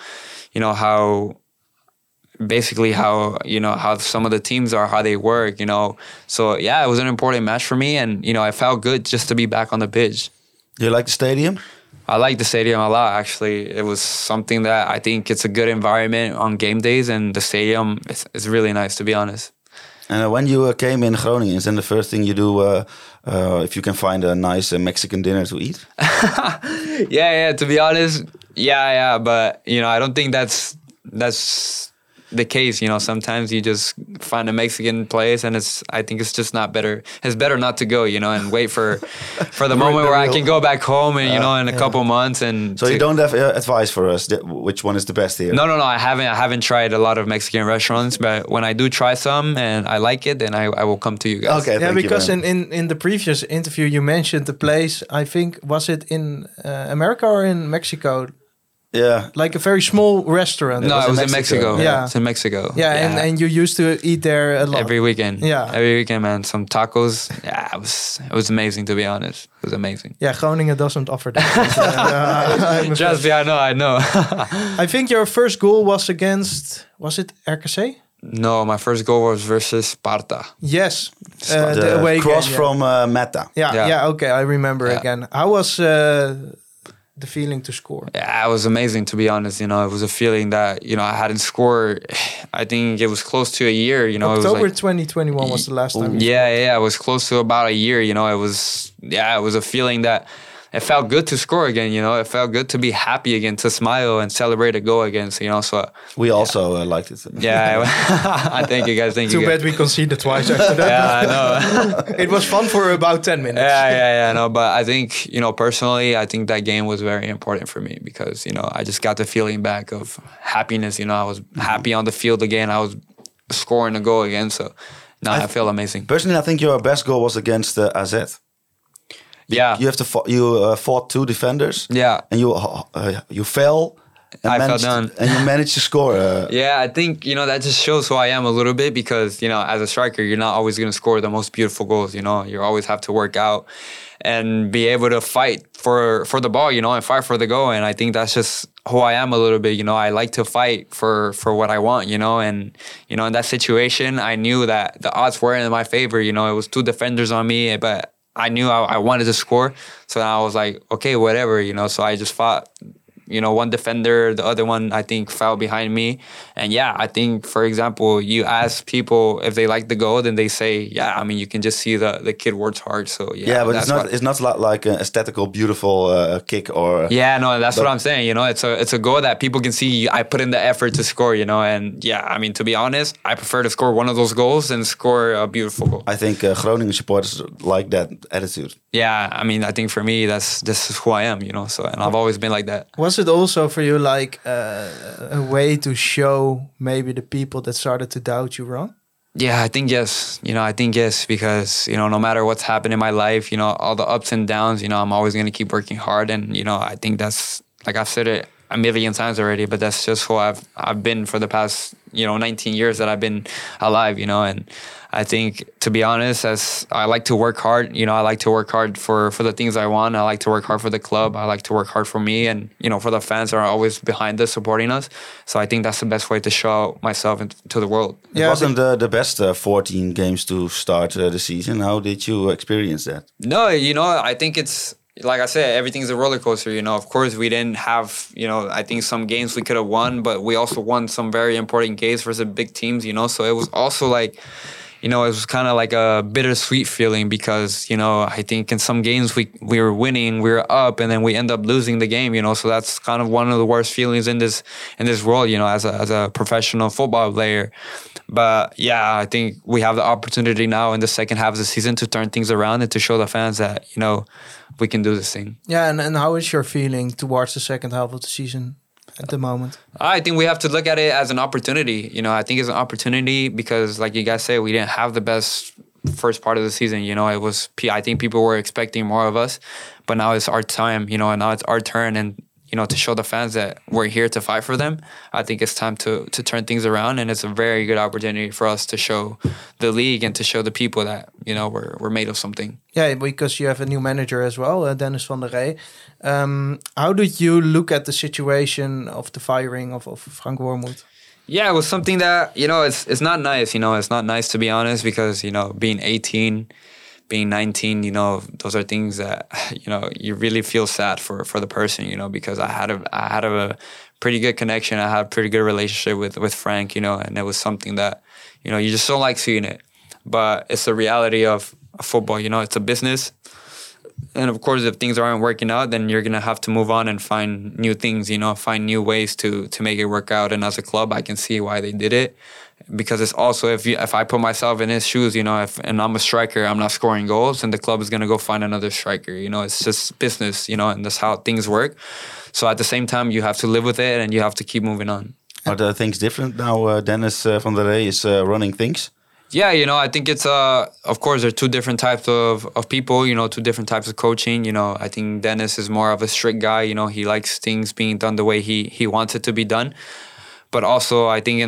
some of the teams are, how they work. So yeah, it was an important match for me, and I felt good just to be back on the pitch. Do you like the stadium? I like the stadium a lot, actually. It was something that I think it's a good environment on game days, and the stadium is really nice, to be honest. And when you came in Groningen, is then the first thing you do if you can find a nice Mexican dinner to eat? Yeah, to be honest, yeah. But, I don't think that's the case. Sometimes you just find a Mexican place, and I think it's just not better. It's better not to go, and wait for the moment where I can go back home and in a couple months. And so you don't have advice for us which one is the best here? No, I haven't tried a lot of Mexican restaurants, but when I do try some and I like it, then I will come to you guys. Okay, yeah, because in the previous interview you mentioned the place. I think, was it in America or in Mexico? Yeah, like a very small restaurant. No, it was in Mexico. Yeah, it's in Mexico. Yeah, and you used to eat there a lot. Every weekend. Yeah, every weekend, man. Some tacos. Yeah, it was amazing, to be honest. It was amazing. Yeah, Groningen doesn't offer that. Trust me, I know. I think your first goal was against. Was it RKC? No, my first goal was versus Sparta. Yes, the away cross game, from Meta. Yeah. Okay, I remember again. How was the feeling to score? Yeah, it was amazing, to be honest. It was a feeling that I hadn't scored. I think it was close to a year. October 2021 was the last time. Yeah, it was close to about a year. It was a feeling that it felt good to score again. It felt good to be happy again, to smile and celebrate a goal again. So we also liked it. Yeah, I thank you guys. Too bad we conceded twice after that. Yeah, I know. It was fun for about 10 minutes. Yeah. No, but I think personally, I think that game was very important for me because I just got the feeling back of happiness. I was happy on the field again. I was scoring a goal again. So now I feel amazing. Personally, I think your best goal was against AZ. Yeah, you fought two defenders. Yeah, and you fell. I fell down, and you managed to score. Yeah, I think that just shows who I am a little bit because as a striker, you're not always going to score the most beautiful goals. You always have to work out and be able to fight for the ball. And fight for the goal. And I think that's just who I am a little bit. I like to fight for what I want. And in that situation, I knew that the odds weren't in my favor. It was two defenders on me, but I knew I wanted to score. So I was like, okay, whatever, so I just fought, one defender, the other one, I think, fell behind me. And yeah, I think, for example, you ask people if they like the goal, then they say, yeah, I mean, you can just see the kid works hard. So yeah. But it's not like an aesthetical, beautiful kick or... Yeah, no, that's what I'm saying. It's a goal that people can see I put in the effort to score, and yeah, I mean, to be honest, I prefer to score one of those goals than score a beautiful goal. I think Groningen supporters like that attitude. Yeah, I mean, I think for me, this is who I am, so, and I've always been like that. Was it also for you like a way to show maybe the people that started to doubt you wrong? Yeah, I think yes. I think yes, because, no matter what's happened in my life, all the ups and downs, I'm always going to keep working hard. And, I think that's, like I've said it a million times already, but that's just who I've been for the past, 19 years that I've been alive, and I think, to be honest, as I like to work hard, I like to work hard for the things I want. I like to work hard for the club. I like to work hard for me and, for the fans that are always behind us, supporting us. So I think that's the best way to show myself to the world. It wasn't the best 14 games to start the season. How did you experience that? No, I think it's, like I said, everything's a roller coaster. Of course, we didn't have, I think some games we could have won, but we also won some very important games versus big teams, So it was also like, it was kind of like a bittersweet feeling because, I think in some games we were winning, we were up, and then we end up losing the game, So that's kind of one of the worst feelings in this world, as a professional football player. But yeah, I think we have the opportunity now in the second half of the season to turn things around and to show the fans that, we can do this thing. Yeah, and how is your feeling towards the second half of the season at the moment? I think we have to look at it as an opportunity. I think it's an opportunity because, like you guys say, we didn't have the best first part of the season. It was, I think people were expecting more of us, but now it's our time, and now it's our turn. And, to show the fans that we're here to fight for them, I think it's time to turn things around. And it's a very good opportunity for us to show the league and to show the people that, we're made of something. Yeah, because you have a new manager as well, Dennis van der Rey. How do you look at the situation of the firing of Frank Wormuth? Yeah, it was something that, it's not nice. It's not nice, to be honest, because, being 18, being 19, those are things that, you really feel sad for the person, because I had a pretty good connection. I had a pretty good relationship with Frank, and it was something that, you just don't like seeing it. But it's the reality of football, it's a business. And of course, if things aren't working out, then you're going to have to move on and find new things, find new ways to make it work out. And as a club, I can see why they did it. Because it's also, if I put myself in his shoes, and I'm a striker, I'm not scoring goals, and the club is going to go find another striker. It's just business, and that's how things work. So at the same time, you have to live with it and you have to keep moving on. Are the things different now? Dennis van der Rey is running things? Yeah, I think it's, of course, there are two different types of people, two different types of coaching. I think Dennis is more of a strict guy. He likes things being done the way he wants it to be done. But also, I think in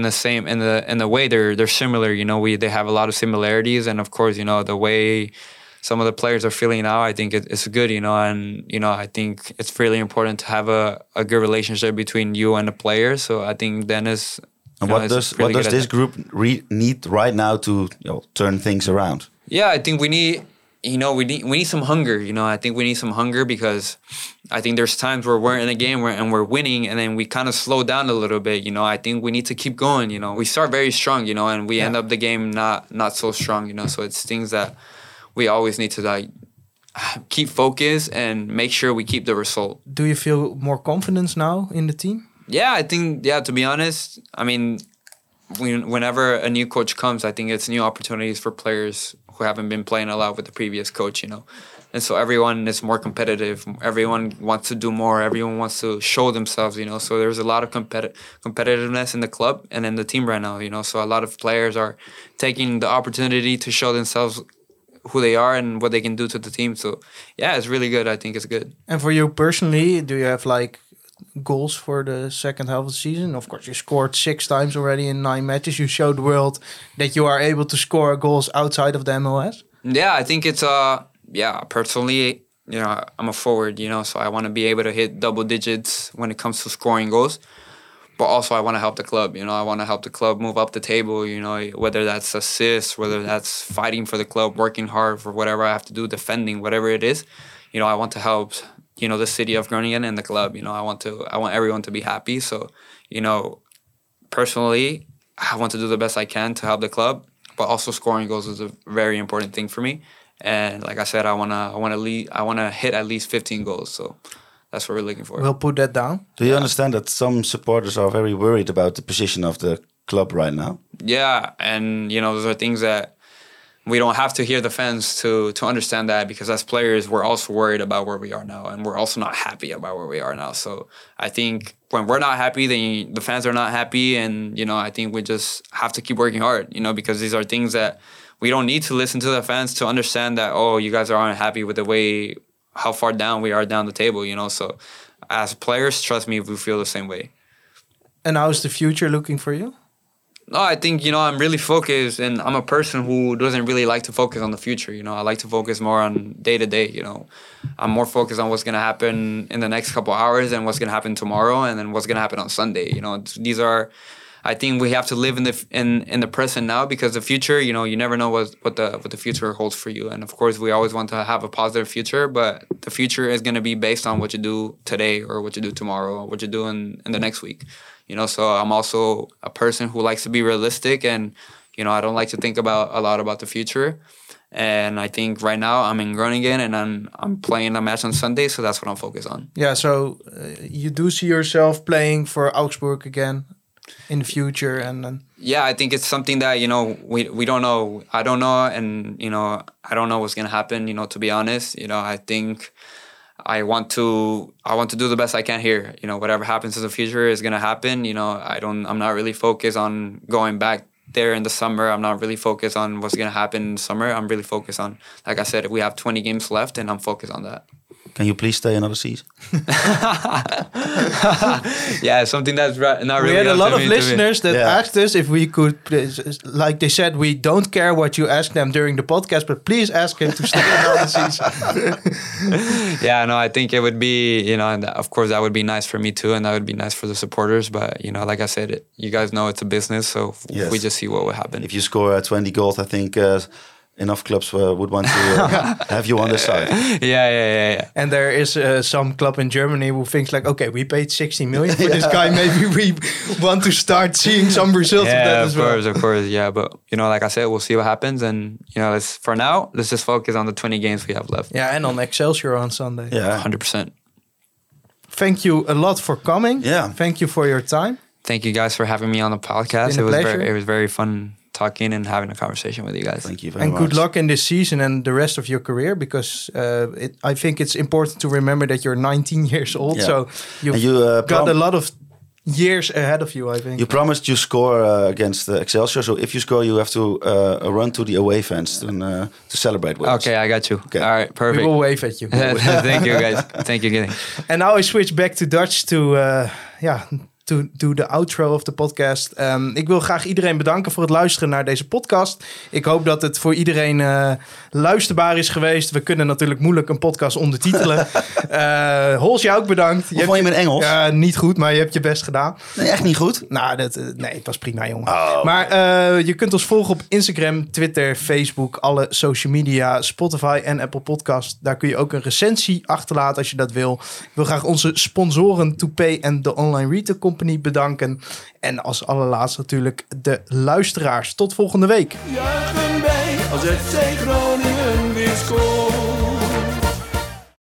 the way they're similar. They have a lot of similarities, and of course, the way some of the players are feeling now, I think it's good. And I think it's really important to have a good relationship between you and the players. So I think Dennis. And what does this group need right now to turn things around? Yeah, I think we need. We need some hunger. I think we need some hunger because I think there's times where we're in a game and we're winning, and then we kind of slow down a little bit. I think we need to keep going. We start very strong. And we end up the game not so strong. So it's things that we always need to keep focus and make sure we keep the result. Do you feel more confidence now in the team? Yeah, I think. Yeah, to be honest, I mean, whenever a new coach comes, I think it's new opportunities for players who haven't been playing a lot with the previous coach, And so everyone is more competitive. Everyone wants to do more. Everyone wants to show themselves, So there's a lot of competitiveness in the club and in the team right now, So a lot of players are taking the opportunity to show themselves who they are and what they can do to the team. So, yeah, it's really good. I think it's good. And for you personally, do you have goals for the second half of the season? Of course, you scored 6 times already in 9 matches. You showed the world that you are able to score goals outside of the MLS. Yeah, I think it's personally, I'm a forward, so I want to be able to hit double digits when it comes to scoring goals. But also I want to help the club, I want to help the club move up the table, whether that's assists, whether that's fighting for the club, working hard for whatever I have to do, defending, whatever it is. I want to help the city of Groningen and the club. I want everyone to be happy. So, personally, I want to do the best I can to help the club, but also scoring goals is a very important thing for me. And like I said, I want to hit at least 15 goals. So that's what we're looking for. We'll put that down. Do you understand that some supporters are very worried about the position of the club right now? Yeah, and those are things that we don't have to hear the fans to understand that, because as players, we're also worried about where we are now, and we're also not happy about where we are now. So I think when we're not happy, then the fans are not happy, and I think we just have to keep working hard, because these are things that we don't need to listen to the fans to understand that, oh, you guys are unhappy with the way how far down we are down the table, So as players, trust me, we feel the same way. And how's the future looking for you? No, I think, I'm really focused, and I'm a person who doesn't really like to focus on the future. I like to focus more on day to day, I'm more focused on what's going to happen in the next couple hours and what's going to happen tomorrow and then what's going to happen on Sunday. These are, I think we have to live in the present now, because the future, you never know what the future holds for you. And of course, we always want to have a positive future, but the future is going to be based on what you do today or what you do tomorrow or what you do in the next week. So I'm also a person who likes to be realistic, and, I don't like to think a lot about the future. And I think right now I'm in Groningen and I'm playing a match on Sunday, so that's what I'm focused on. Yeah, so you do see yourself playing for Augsburg again in the future, and yeah, I think it's something that we don't know. I don't know, and I don't know what's gonna happen. To be honest, I think I want to do the best I can here. Whatever happens in the future is gonna happen. I'm not really focused on going back there in the summer. I'm not really focused on what's gonna happen in the summer. I'm really focused on, like I said, we have 20 games left, and I'm focused on that. Can you please stay another season? Yeah, something that's not really. We had a lot of listeners that Yeah. asked us if we could, like they said, we don't care what you ask them during the podcast, but please ask him to stay another season. Yeah, no, I think it would be, and of course that would be nice for me too, and that would be nice for the supporters. But, like I said, you guys know it's a business, so Yes. we just see what will happen. If you score 20 goals, I think enough clubs would want to have you on their side. Yeah. And there is some club in Germany who thinks like, okay, we paid 16 million for this guy. Maybe we want to start seeing some results of that as well. Of course, yeah. But, like I said, we'll see what happens. And, for now, let's just focus on the 20 games we have left. Yeah, and on Excelsior on Sunday. Yeah. 100%. Thank you a lot for coming. Yeah. Thank you for your time. Thank you guys for having me on the podcast. Been a pleasure. It was very fun talking and having a conversation with you guys. Thank you very And much. good luck in this season and the rest of your career, because I think it's important to remember that you're 19 years old. Yeah. So you've And you, got a lot of years ahead of you, I think. You promised you score against Excelsior, so if you score, you have to run to the away fans to celebrate with us. Okay, I got you. Okay. All right, We perfect. will wave at you. Thank you, guys. Thank you. And now I switch back to Dutch to do the outro of de podcast. Ik wil graag iedereen bedanken voor het luisteren naar deze podcast. Ik hoop dat het voor iedereen luisterbaar is geweest. We kunnen natuurlijk moeilijk een podcast ondertitelen. Hols, jij ook bedankt. Hoe vond je mijn Engels? Ja, niet goed, maar je hebt je best gedaan. Nee, echt niet goed. Nou, nee, het was prima, jongen. Oh. Maar je kunt ons volgen op Instagram, Twitter, Facebook, alle social media, Spotify en Apple Podcast. Daar kun je ook een recensie achterlaten als je dat wil. Ik wil graag onze sponsoren Toupay en de Online Retail Company bedanken. En als allerlaatste natuurlijk de luisteraars. Tot volgende week. Juichen wij als FC Groningen weer scoort.